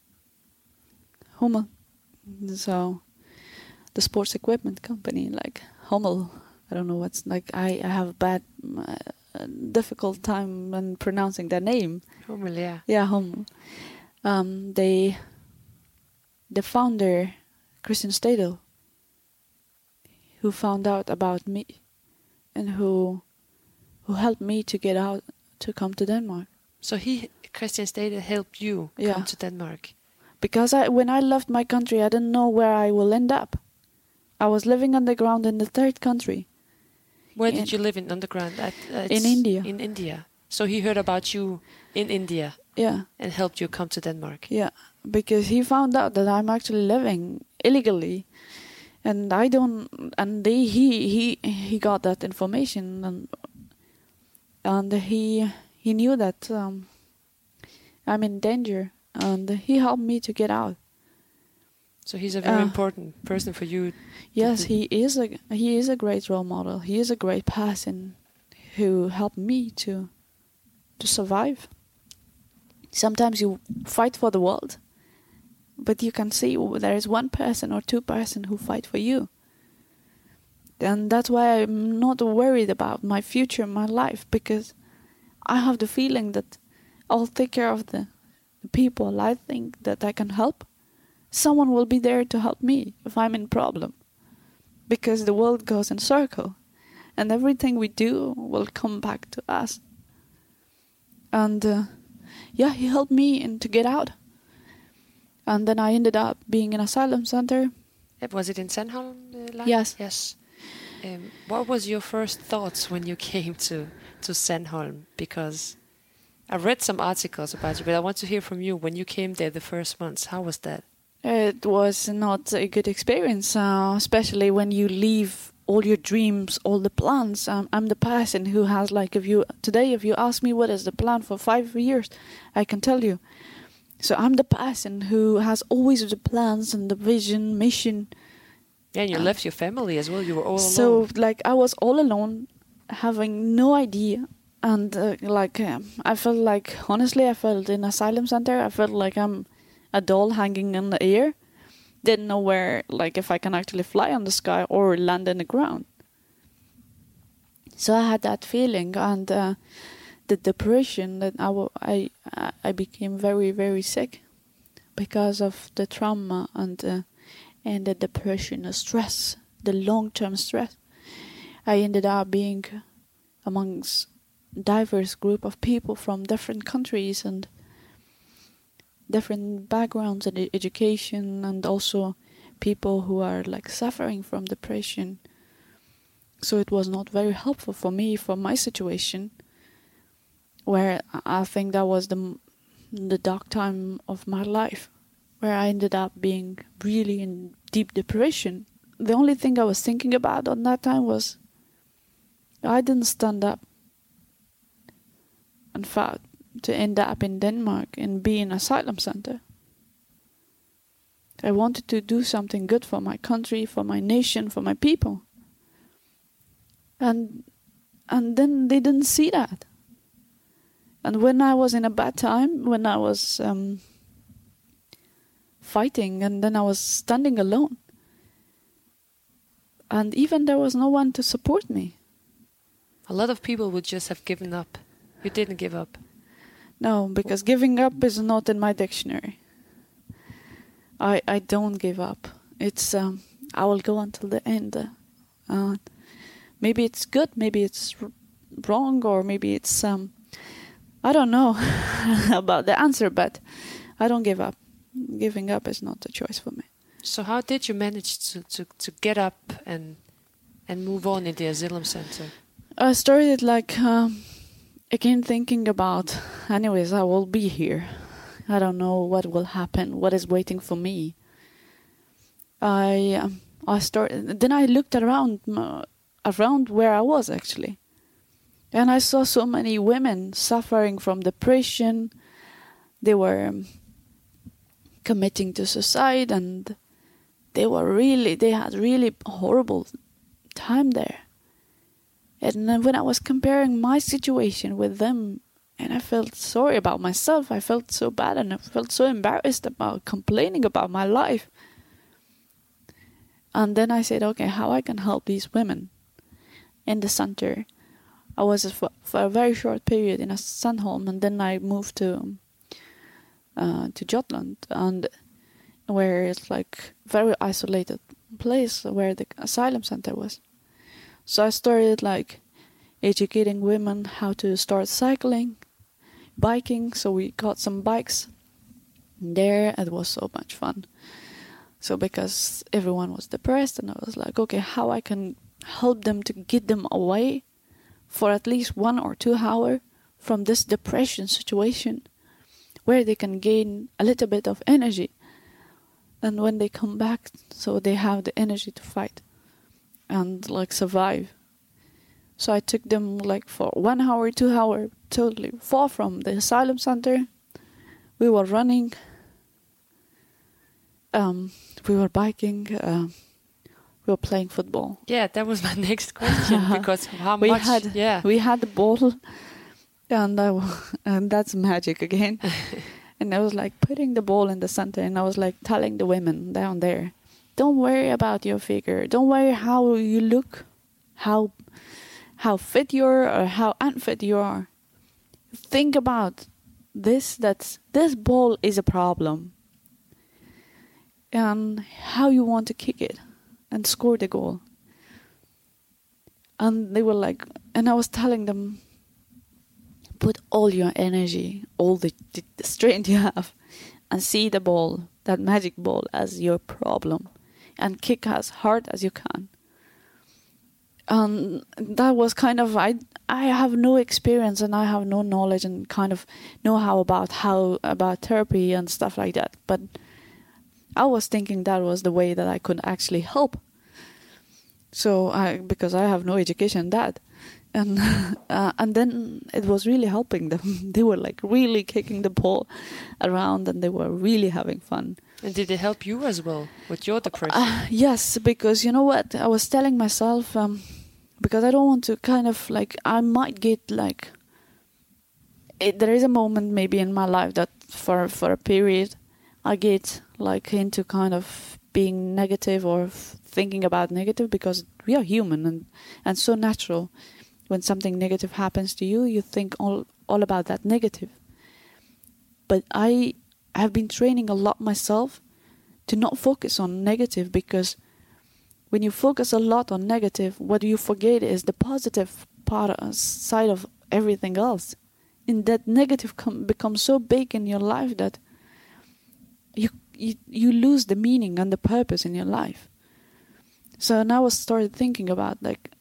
Hummel, so the sports equipment company, like Hummel. I don't know what's like. I, I have a bad, uh, difficult time when pronouncing their name. Hummel, yeah. Yeah, Hummel. Um, they, the founder, Christian Stadel, who found out about me, and who, who helped me to get out to come to Denmark. So he, Christian Stadel, helped you Yeah. come to Denmark. Because I, when I left my country, I didn't know where I will end up. I was living underground in the third country. Where In- did you live in underground? At, uh, In it's India. In India. So he heard about you in India Yeah, and helped you come to Denmark. yeah. Because he found out that I'm actually living illegally, and I don't. And they, he he he got that information, and and he he knew that um, I'm in danger, and he helped me to get out. So he's a very Uh, important person for you. Yes, to- he is a he is a great role model. He is a great person who helped me to to survive. Sometimes you fight for the world, but you can see there is one person or two person who fight for you. And that's why I'm not worried about my future, my life, because I have the feeling that I'll take care of the, the people I think that I can help. Someone will be there to help me if I'm in problem. Because the world goes in circle, and everything we do will come back to us. And uh, yeah, he helped me in to get out. And then I ended up being in asylum center. Uh, Was it in Sandholm? Uh, like? Yes. Yes. Um, what was your first thoughts when you came to, to Sandholm? Because I read some articles about you, but I want to hear from you. When you came there the first months, how was that? It was not a good experience, uh, especially when you leave all your dreams, all the plans. Um, I'm the person who has, like, if you today, if you ask me what is the plan for five years, I can tell you. So I'm the person who has always the plans and the vision, mission. Yeah, and you Uh, left your family as well. You were all So, alone. like, I was all alone, having no idea. And, uh, like, um, I felt like, honestly, I felt in asylum center, I felt like I'm a doll hanging in the air. Didn't know where, like, if I can actually fly on the sky or land in the ground. So I had that feeling, and uh, the depression that I, w- I, I became very, very sick because of the trauma and uh, and the depression, the stress, the long-term stress. I ended up being amongst diverse group of people from different countries and different backgrounds and e- education, and also people who are like suffering from depression. So it was not very helpful for me, for my situation, where I think that was the m- the dark time of my life, where I ended up being really in deep depression. The only thing I was thinking about on that time was I didn't stand up and fought to end up in Denmark and be in asylum center. I wanted to do something good for my country, for my nation, for my people. And and then they didn't see that. And when I was in a bad time, when I was um, fighting, and then I was standing alone, and even there was no one to support me. A lot of people would just have given up. You didn't give up. No, because giving up is not in my dictionary. I I don't give up. It's um, I will go until the end. Uh, maybe it's good, maybe it's r- wrong, or maybe it's um, I don't know about the answer, but I don't give up. Giving up is not a choice for me. So how did you manage to, to, to get up and and move on in the asylum center? I started like um, again thinking about, anyways, I will be here. I don't know what will happen, what is waiting for me. I um, I started. Then I looked around uh, around where I was actually, and I saw so many women suffering from depression. They were um, committing to suicide, and they were really, they had really horrible time there. And then when I was comparing my situation with them, and I felt sorry about myself, I felt so bad and I felt so embarrassed about complaining about my life. And then I said, okay, how I can help these women in the center. I was for, for a very short period in a Sandholm, and then I moved to uh, to Jutland, and where it's like very isolated place where the asylum center was. So I started like educating women how to start cycling, biking. So we got some bikes there. It was so much fun. So because everyone was depressed, and I was like, okay, how I can help them to get them away for at least one or two hours from this depression situation, where they can gain a little bit of energy. And when they come back, so they have the energy to fight and like survive. So I took them like for one hour, two hour, totally far from the asylum center. We were running. Um, we were biking. Uh, we were playing football. Yeah, that was my next question, because how we much? Had, yeah, we had the ball, and I, and that's magic again. And I was like putting the ball in the center, and I was like telling the women down there, don't worry about your figure. Don't worry how you look, how how fit you are or how unfit you are. Think about this, that this ball is a problem, and how you want to kick it and score the goal. And they were like, and I was telling them, put all your energy, all the, the, the strength you have, and see the ball, that magic ball, as your problem, and kick as hard as you can. And that was kind of, I I have no experience and I have no knowledge and kind of know-how about how about therapy and stuff like that. But I was thinking that was the way that I could actually help. So I, because I have no education in that. And uh, and then it was really helping them. They were like really kicking the ball around, and they were really having fun. And did it help you as well with your depression? Uh, yes, because you know what? I was telling myself, um, because I don't want to kind of like, I might get like, it, there is a moment maybe in my life that for, for a period, I get like into kind of being negative or f- thinking about negative, because we are human and, and so natural. When something negative happens to you, you think all, all about that negative. But I have been training a lot myself to not focus on negative, because when you focus a lot on negative, what you forget is the positive part uh, side of everything else. And that negative com- becomes so big in your life that you, you you lose the meaning and the purpose in your life. So now I started thinking about like,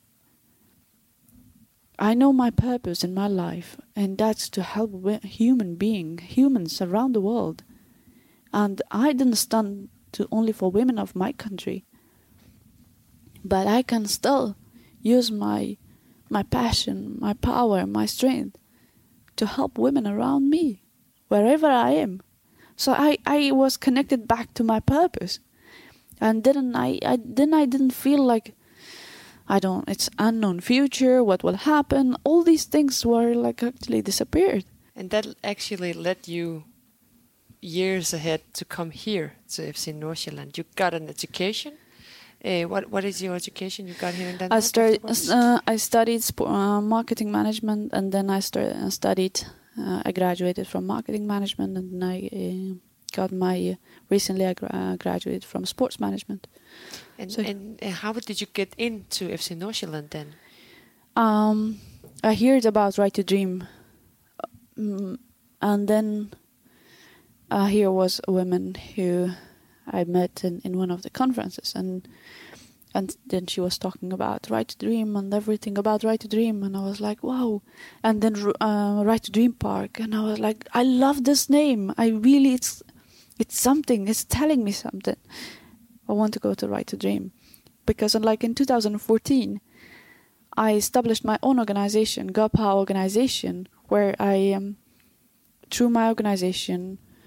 I know my purpose in my life, and that's to help human beings, humans around the world. And I didn't stand to only for women of my country, but I can still use my my passion, my power, my strength to help women around me, wherever I am. So I, I was connected back to my purpose, and didn't I, I then I didn't feel like, I don't, it's unknown future, what will happen. All these things were like actually disappeared. And that actually led you years ahead to come here to F C Nordsjælland. You got an education. Uh, what what is your education you got here in Denmark? I started. Uh, I studied sp- uh, marketing management, and then I started, uh, studied. Uh, I graduated from marketing management, and then I uh, got my. Uh, recently, I gra- graduated from sports management. And, so, and uh, how did you get into F C Nordsjælland then? Um, I heard about Right to Dream, um, and then uh, here was a woman who I met in, in one of the conferences, and and then she was talking about Right to Dream and everything about Right to Dream, and I was like, wow. And then uh, Right to Dream Park, and I was like, I love this name. I really, it's it's something. It's telling me something. I want to go to Right to Dream, because like in two thousand fourteen, I established my own organization, Gopha organization, where I um, through my organization,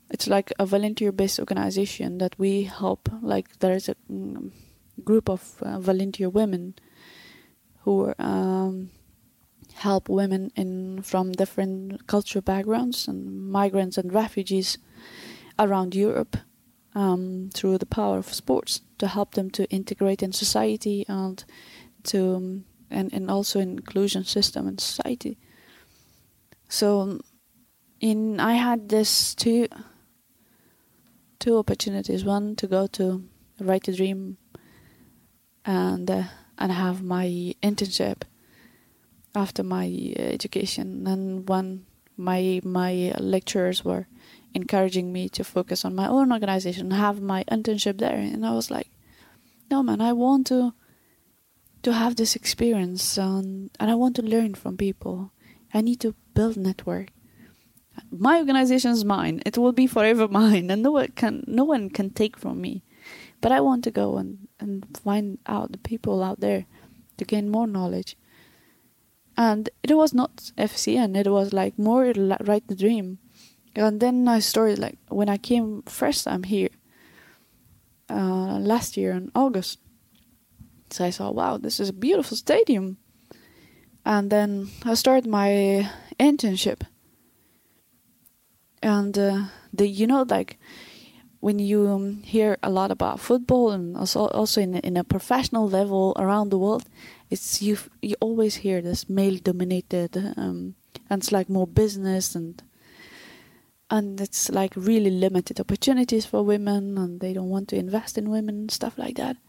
it's like a volunteer-based organization that we help. Like there is a mm, group of uh, volunteer women who um, help women in from different cultural backgrounds and migrants and refugees around Europe um, through the power of sports to help them to integrate in society and to um, and and also inclusion system in society. So, in I had this two two opportunities. One to go to Right to Dream and uh, and have my internship after my uh, education, and one my my lecturers were encouraging me to focus on my own organization, have my internship there, and I was like, no man, I want to to have this experience, um, and I want to learn from people. I need to build network. My organization is mine; it will be forever mine, and no one can no one can take from me. But I want to go and, and find out the people out there to gain more knowledge. And it was not F C N; it was like more Right to Dream. And then I started, like, when I came first time here, uh, last year in August. So I saw, wow, this is a beautiful stadium. And then I started my internship. And, uh, the you know, like, when you um, hear a lot about football and also also in, in a professional level around the world, it's you you always hear this male-dominated, um, and it's like more business and... And it's like really limited opportunities for women, and they don't want to invest in women and stuff like that.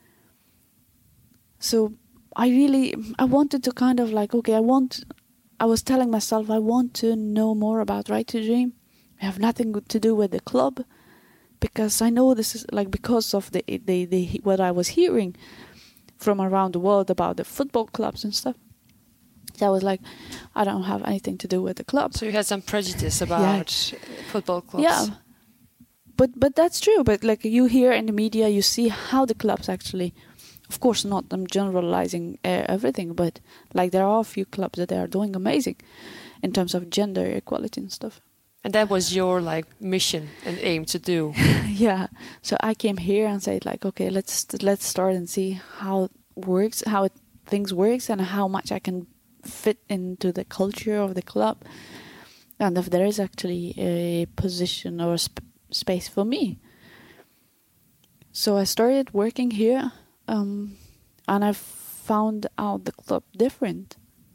So I really, I wanted to kind of like, okay, I want, I was telling myself, I want to know more about Right to Dream. I have nothing to do with the club, because I know this is like, because of the, the, the what I was hearing from around the world about the football clubs and stuff. So I was like, I don't have anything to do with the club. So you had some prejudice about yeah. football clubs. Yeah, but but that's true. But like you hear in the media, you see how the clubs actually, of course not, I'm generalizing uh, everything, but like there are a few clubs that are doing amazing in terms of gender equality and stuff. And that was your like mission and aim to do. Yeah. So I came here and said like, okay, let's let's start and see how it works, how it, things works, and how much I can fit into the culture of the club, and if there is actually a position or a sp- space for me. So I started working here, um, and I found out the club different.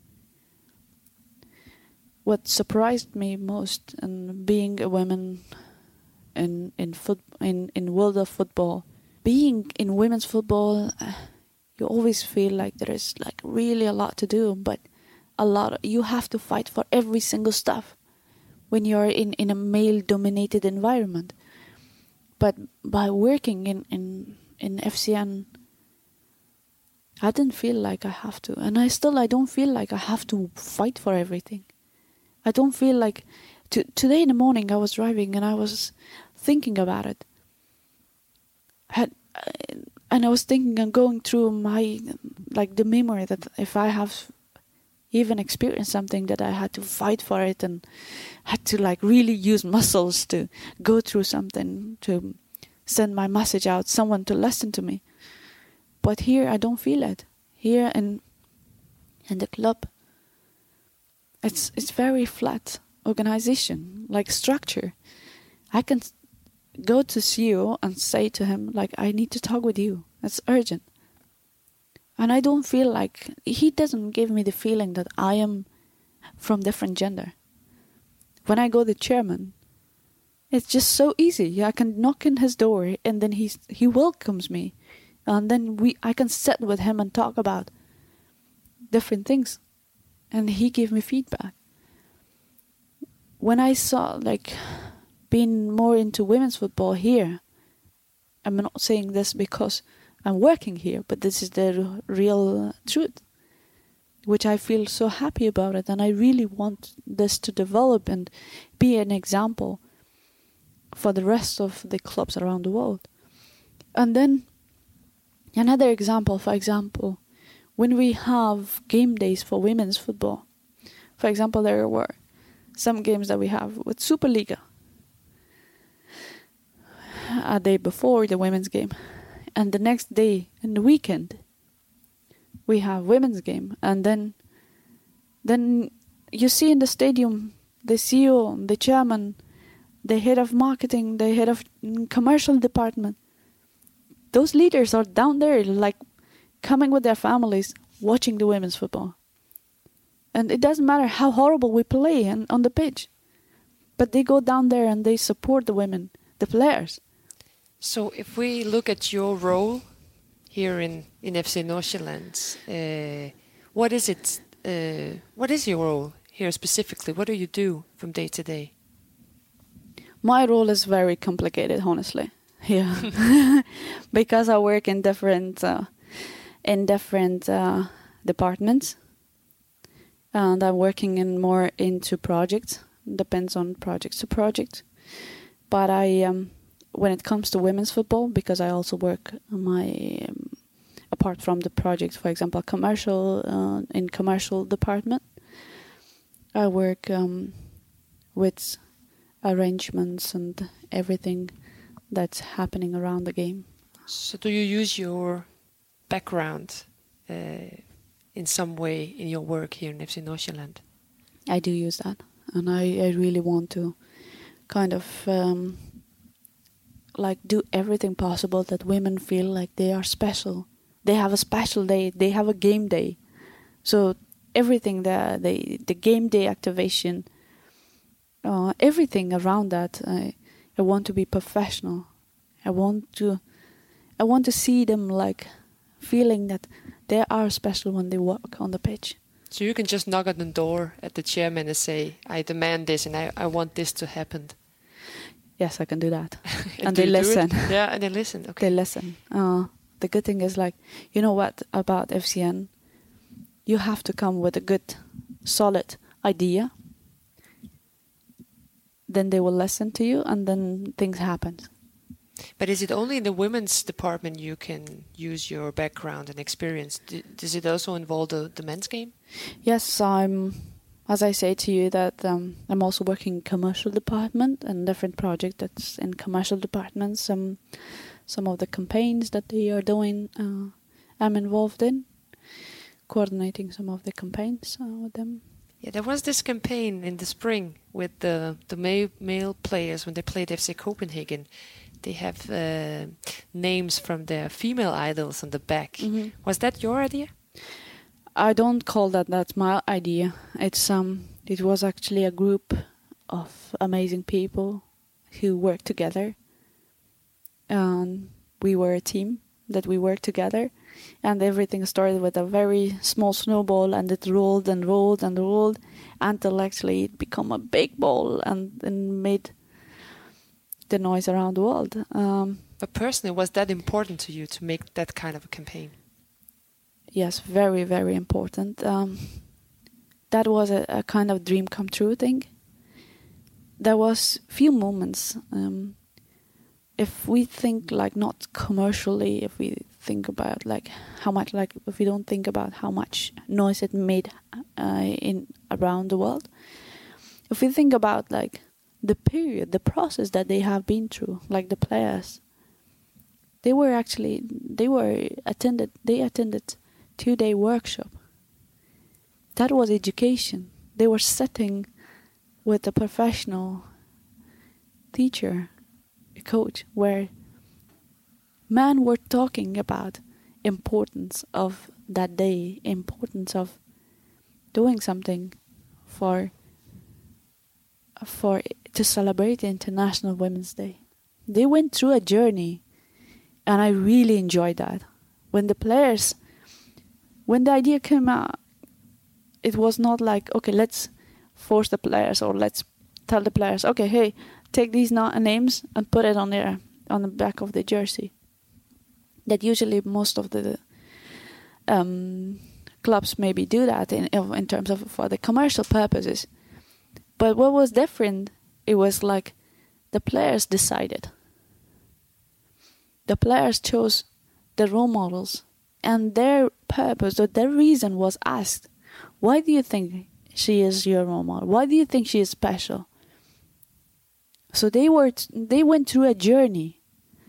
What surprised me most, in being a woman in in foot in in world of football, being in women's football, uh, you always feel like there is like really a lot to do, but a lot of, you have to fight for every single stuff when you're in, in a male-dominated environment. But by working in, in, in F C N, I didn't feel like I have to. And I still, I don't feel like I have to fight for everything. I don't feel like... To, today in the morning I was driving and I was thinking about it. Had, and I was thinking and going through my... Like the memory that if I have... even experienced something that I had to fight for it and had to like really use muscles to go through something, to send my message out, someone to listen to me. But here I don't feel it. Here in in the club, it's it's very flat organization, like structure. I can go to C E O and say to him like, I need to talk with you. It's urgent. And I don't feel like... He doesn't give me the feeling that I am from different gender. When I go to the chairman, it's just so easy. I can knock in his door and then he's, he welcomes me. And then we I can sit with him and talk about different things. And he gave me feedback. When I saw, like, being more into women's football here, I'm not saying this because... I'm working here, but this is the real truth, which I feel so happy about it, and I really want this to develop and be an example for the rest of the clubs around the world. And then another example, for example, when we have game days for women's football, for example, there were some games that we have with Superliga. a day before the women's game, and the next day in the weekend we have women's game, and then then you see in the stadium the C E O, the chairman, the head of marketing, the head of commercial department. Those leaders are down there, like coming with their families, watching the women's football. And it doesn't matter how horrible we play and on the pitch, but they go down there and they support the women, the players. So if we look at your role here in, in F C Nordsjælland, uh, what is it? Uh, what is your role here specifically? What do you do from day to day? My role is very complicated, honestly. Yeah, because I work in different uh, in different uh, departments, and I'm working in more into projects. Depends on project to project. But I, um, when it comes to women's football, because I also work my um, apart from the project, for example, commercial uh, in commercial department, I work um, with arrangements and everything that's happening around the game. So do you use your background uh, in some way in your work here in F C Nordsjælland? I do use that, and I, I really want to kind of um, like do everything possible that women feel like they are special. They have a special day. They have a game day. So everything, the the, the game day activation, uh, everything around that, I, I want to be professional. I want to, I want to see them like feeling that they are special when they walk on the pitch. So you can just knock on the door at the chairman and say, I demand this and I, I want this to happen. Yes, I can do that. and and do they you do listen. it? Yeah, and they listen. Okay. They listen. Uh, the good thing is, like, you know what about F C N? You have to come with a good, solid idea. Then they will listen to you, and then things happen. But is it only in the women's department you can use your background and experience? D- does it also involve the, the men's game? Yes, I'm. As I say to you, that um, I'm also working in commercial department and different project that's in commercial departments. Some, some of the campaigns that they are doing, uh, I'm involved in, coordinating some of the campaigns uh, with them. Yeah, there was this campaign in the spring with the the male, male players when they played F C Copenhagen. They have uh, names from their female idols on the back. Mm-hmm. Was that your idea? I don't call that that's my idea. It's um, it was actually a group of amazing people who worked together, and we were a team that we worked together, and everything started with a very small snowball, and it rolled and rolled and rolled until actually it became a big ball and then made the noise around the world. Um, but personally, was that important to you to make that kind of a campaign? Yes, very, very important. Um, that was a, a kind of dream come true thing. There was few moments. Um, if we think like not commercially, if we think about like how much, like if we don't think about how much noise it made uh, in around the world, if we think about like the period, the process that they have been through, like the players, they were actually they were attended. They attended two-day workshop. That was education. They were sitting with a professional teacher, a coach, where men were talking about importance of that day, importance of doing something for for to celebrate International Women's Day. They went through a journey, and I really enjoyed that. When the players When the idea came out, it was not like, okay, let's force the players or let's tell the players, okay, hey, take these na- names and put it on their on the back of the jersey. That usually most of the um, clubs maybe do that in in terms of for the commercial purposes. But what was different, it was like the players decided. The players chose the role models. And their purpose or their reason was asked, why do you think she is your role model? Why do you think she is special? So they were t- they went through a journey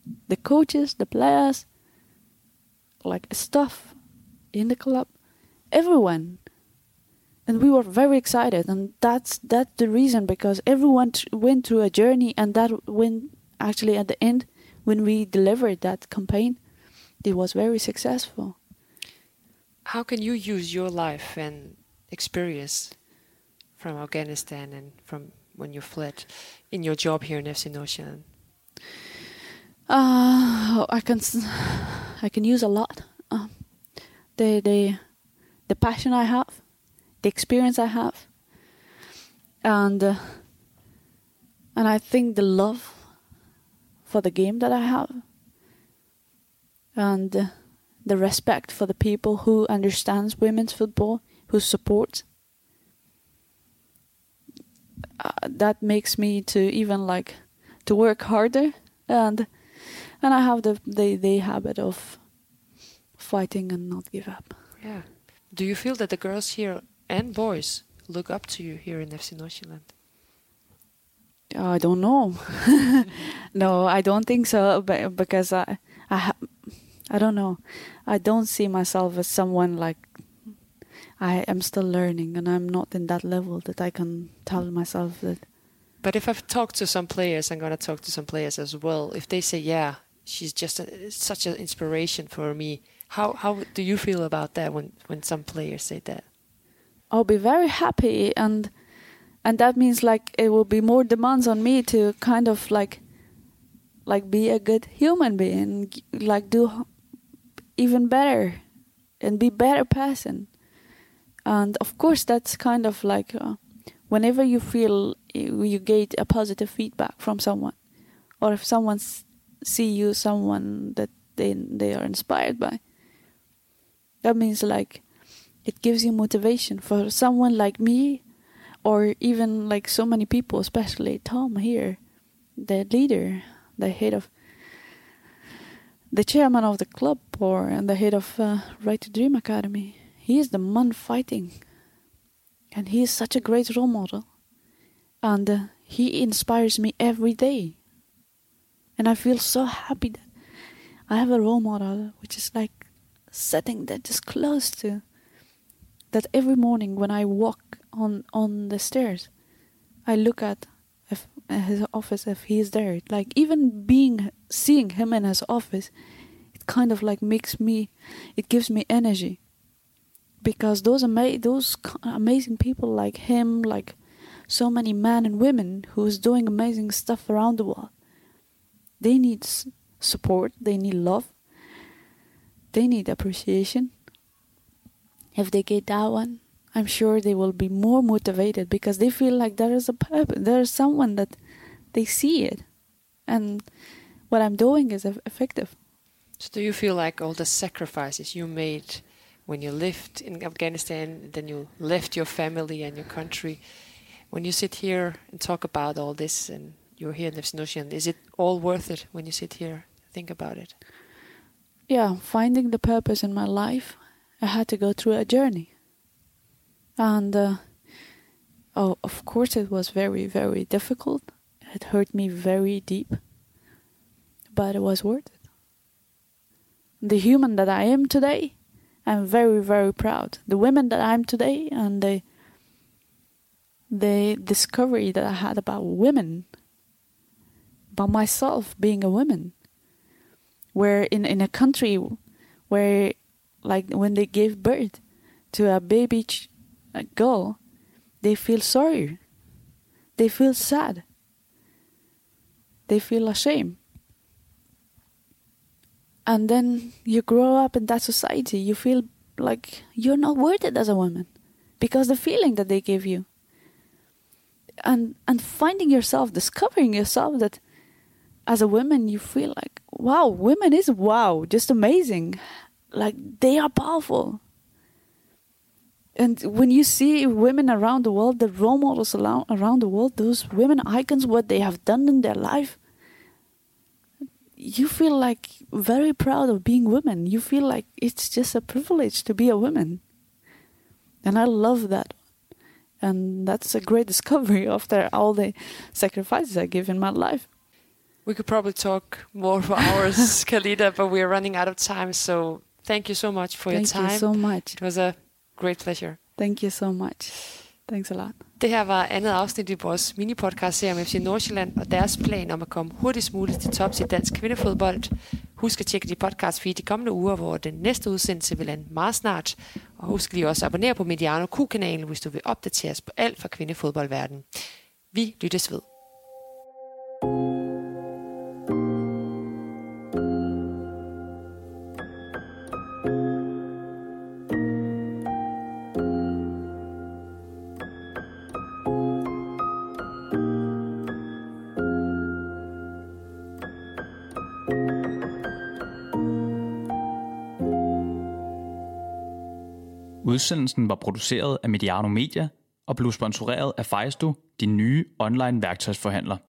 the coaches, the players, like staff in the club, everyone. And we were very excited, and that's that's the reason, because everyone t- went through a journey, and that when actually at the end, when we delivered that campaign, it was very successful. How can you use your life and experience from Afghanistan and from when you fled in your job here in F C Nordsjælland? Uh, I can s- I can use a lot. Uh, the the the passion I have, the experience I have, and uh, and I think the love for the game that I have, and uh, the respect for the people who understands women's football, who supports. Uh, that makes me to even like to work harder, and and I have the the, the habit of fighting and not give up. Yeah. Do you feel that the girls here and boys look up to you here in F C Nordsjælland? I don't know. No, I don't think so. But because I, I, ha- I don't know. I don't see myself as someone like. I am still learning, and I'm not in that level that I can tell myself that. But if I've talked to some players, I'm gonna talk to some players as well. If they say, "Yeah, she's just a, such an inspiration for me," how how do you feel about that when when some players say that? I'll be very happy, and and that means like it will be more demands on me to kind of like like be a good human being, like do even better and be better person. And of course that's kind of like uh, whenever you feel you, you get a positive feedback from someone, or if someone s- see you someone that they they are inspired by, that means like it gives you motivation. For someone like me, or even like so many people, especially Tom here, the leader, the head of, the chairman of the club, or and the head of uh, Right to Dream Academy. He is the man fighting, and he is such a great role model, and uh, he inspires me every day. And I feel so happy that I have a role model which is like sitting there just close to. That every morning when I walk on, on the stairs, I look at if, uh, his office if he is there. Like even being seeing him in his office, it kind of like makes me, it gives me energy. Because those ama- those amazing people like him, like so many men and women who's doing amazing stuff around the world, they need s- support, they need love, they need appreciation. If they get that one, I'm sure they will be more motivated, because they feel like there is a purpose, there is someone that they see it, and what I'm doing is eff- effective. So do you feel like all the sacrifices you made when you lived in Afghanistan, then you left your family and your country, when you sit here and talk about all this, and you're here in F C Nordsjælland, is it all worth it when you sit here and think about it? Yeah, finding the purpose in my life, I had to go through a journey. And, uh, oh, of course it was very, very difficult. It hurt me very deep. But it was worth it. The human that I am today, I'm very, very proud. The women that I am today, and the, the discovery that I had about women, about myself being a woman, where in, in a country where, like when they gave birth to a baby ch- a girl, they feel sorry, they feel sad, they feel ashamed. And then you grow up in that society, you feel like you're not worth it as a woman, because the feeling that they give you. And and finding yourself, discovering yourself that as a woman you feel like, wow, women is wow, just amazing. Like they are powerful. And when you see women around the world, the role models around, around the world, those women icons, what they have done in their life, you feel like very proud of being women. You feel like it's just a privilege to be a woman. And I love that. And that's a great discovery after all the sacrifices I give in my life. We could probably talk more for hours, Khalida, but we are running out of time. So thank you so much for Thank your time. Thank you so much. It was a great pleasure. Thank you so much. Thanks a lot. Det her var andet afsnit i vores mini-podcast-serie om F C Nordsjælland og deres plan om at komme hurtigst muligt til tops i dansk kvindefodbold. Husk at tjekke de podcast feed de kommende uger, hvor den næste udsendelse vil lande meget snart. Og husk lige også at abonnere på Mediano Q-kanalen, hvis du vil opdateres på alt fra kvindefodboldverdenen. Vi lyttes ved. Udsendelsen var produceret af Mediano Media og blev sponsoreret af Fejsto, din nye online værktøjsforhandler.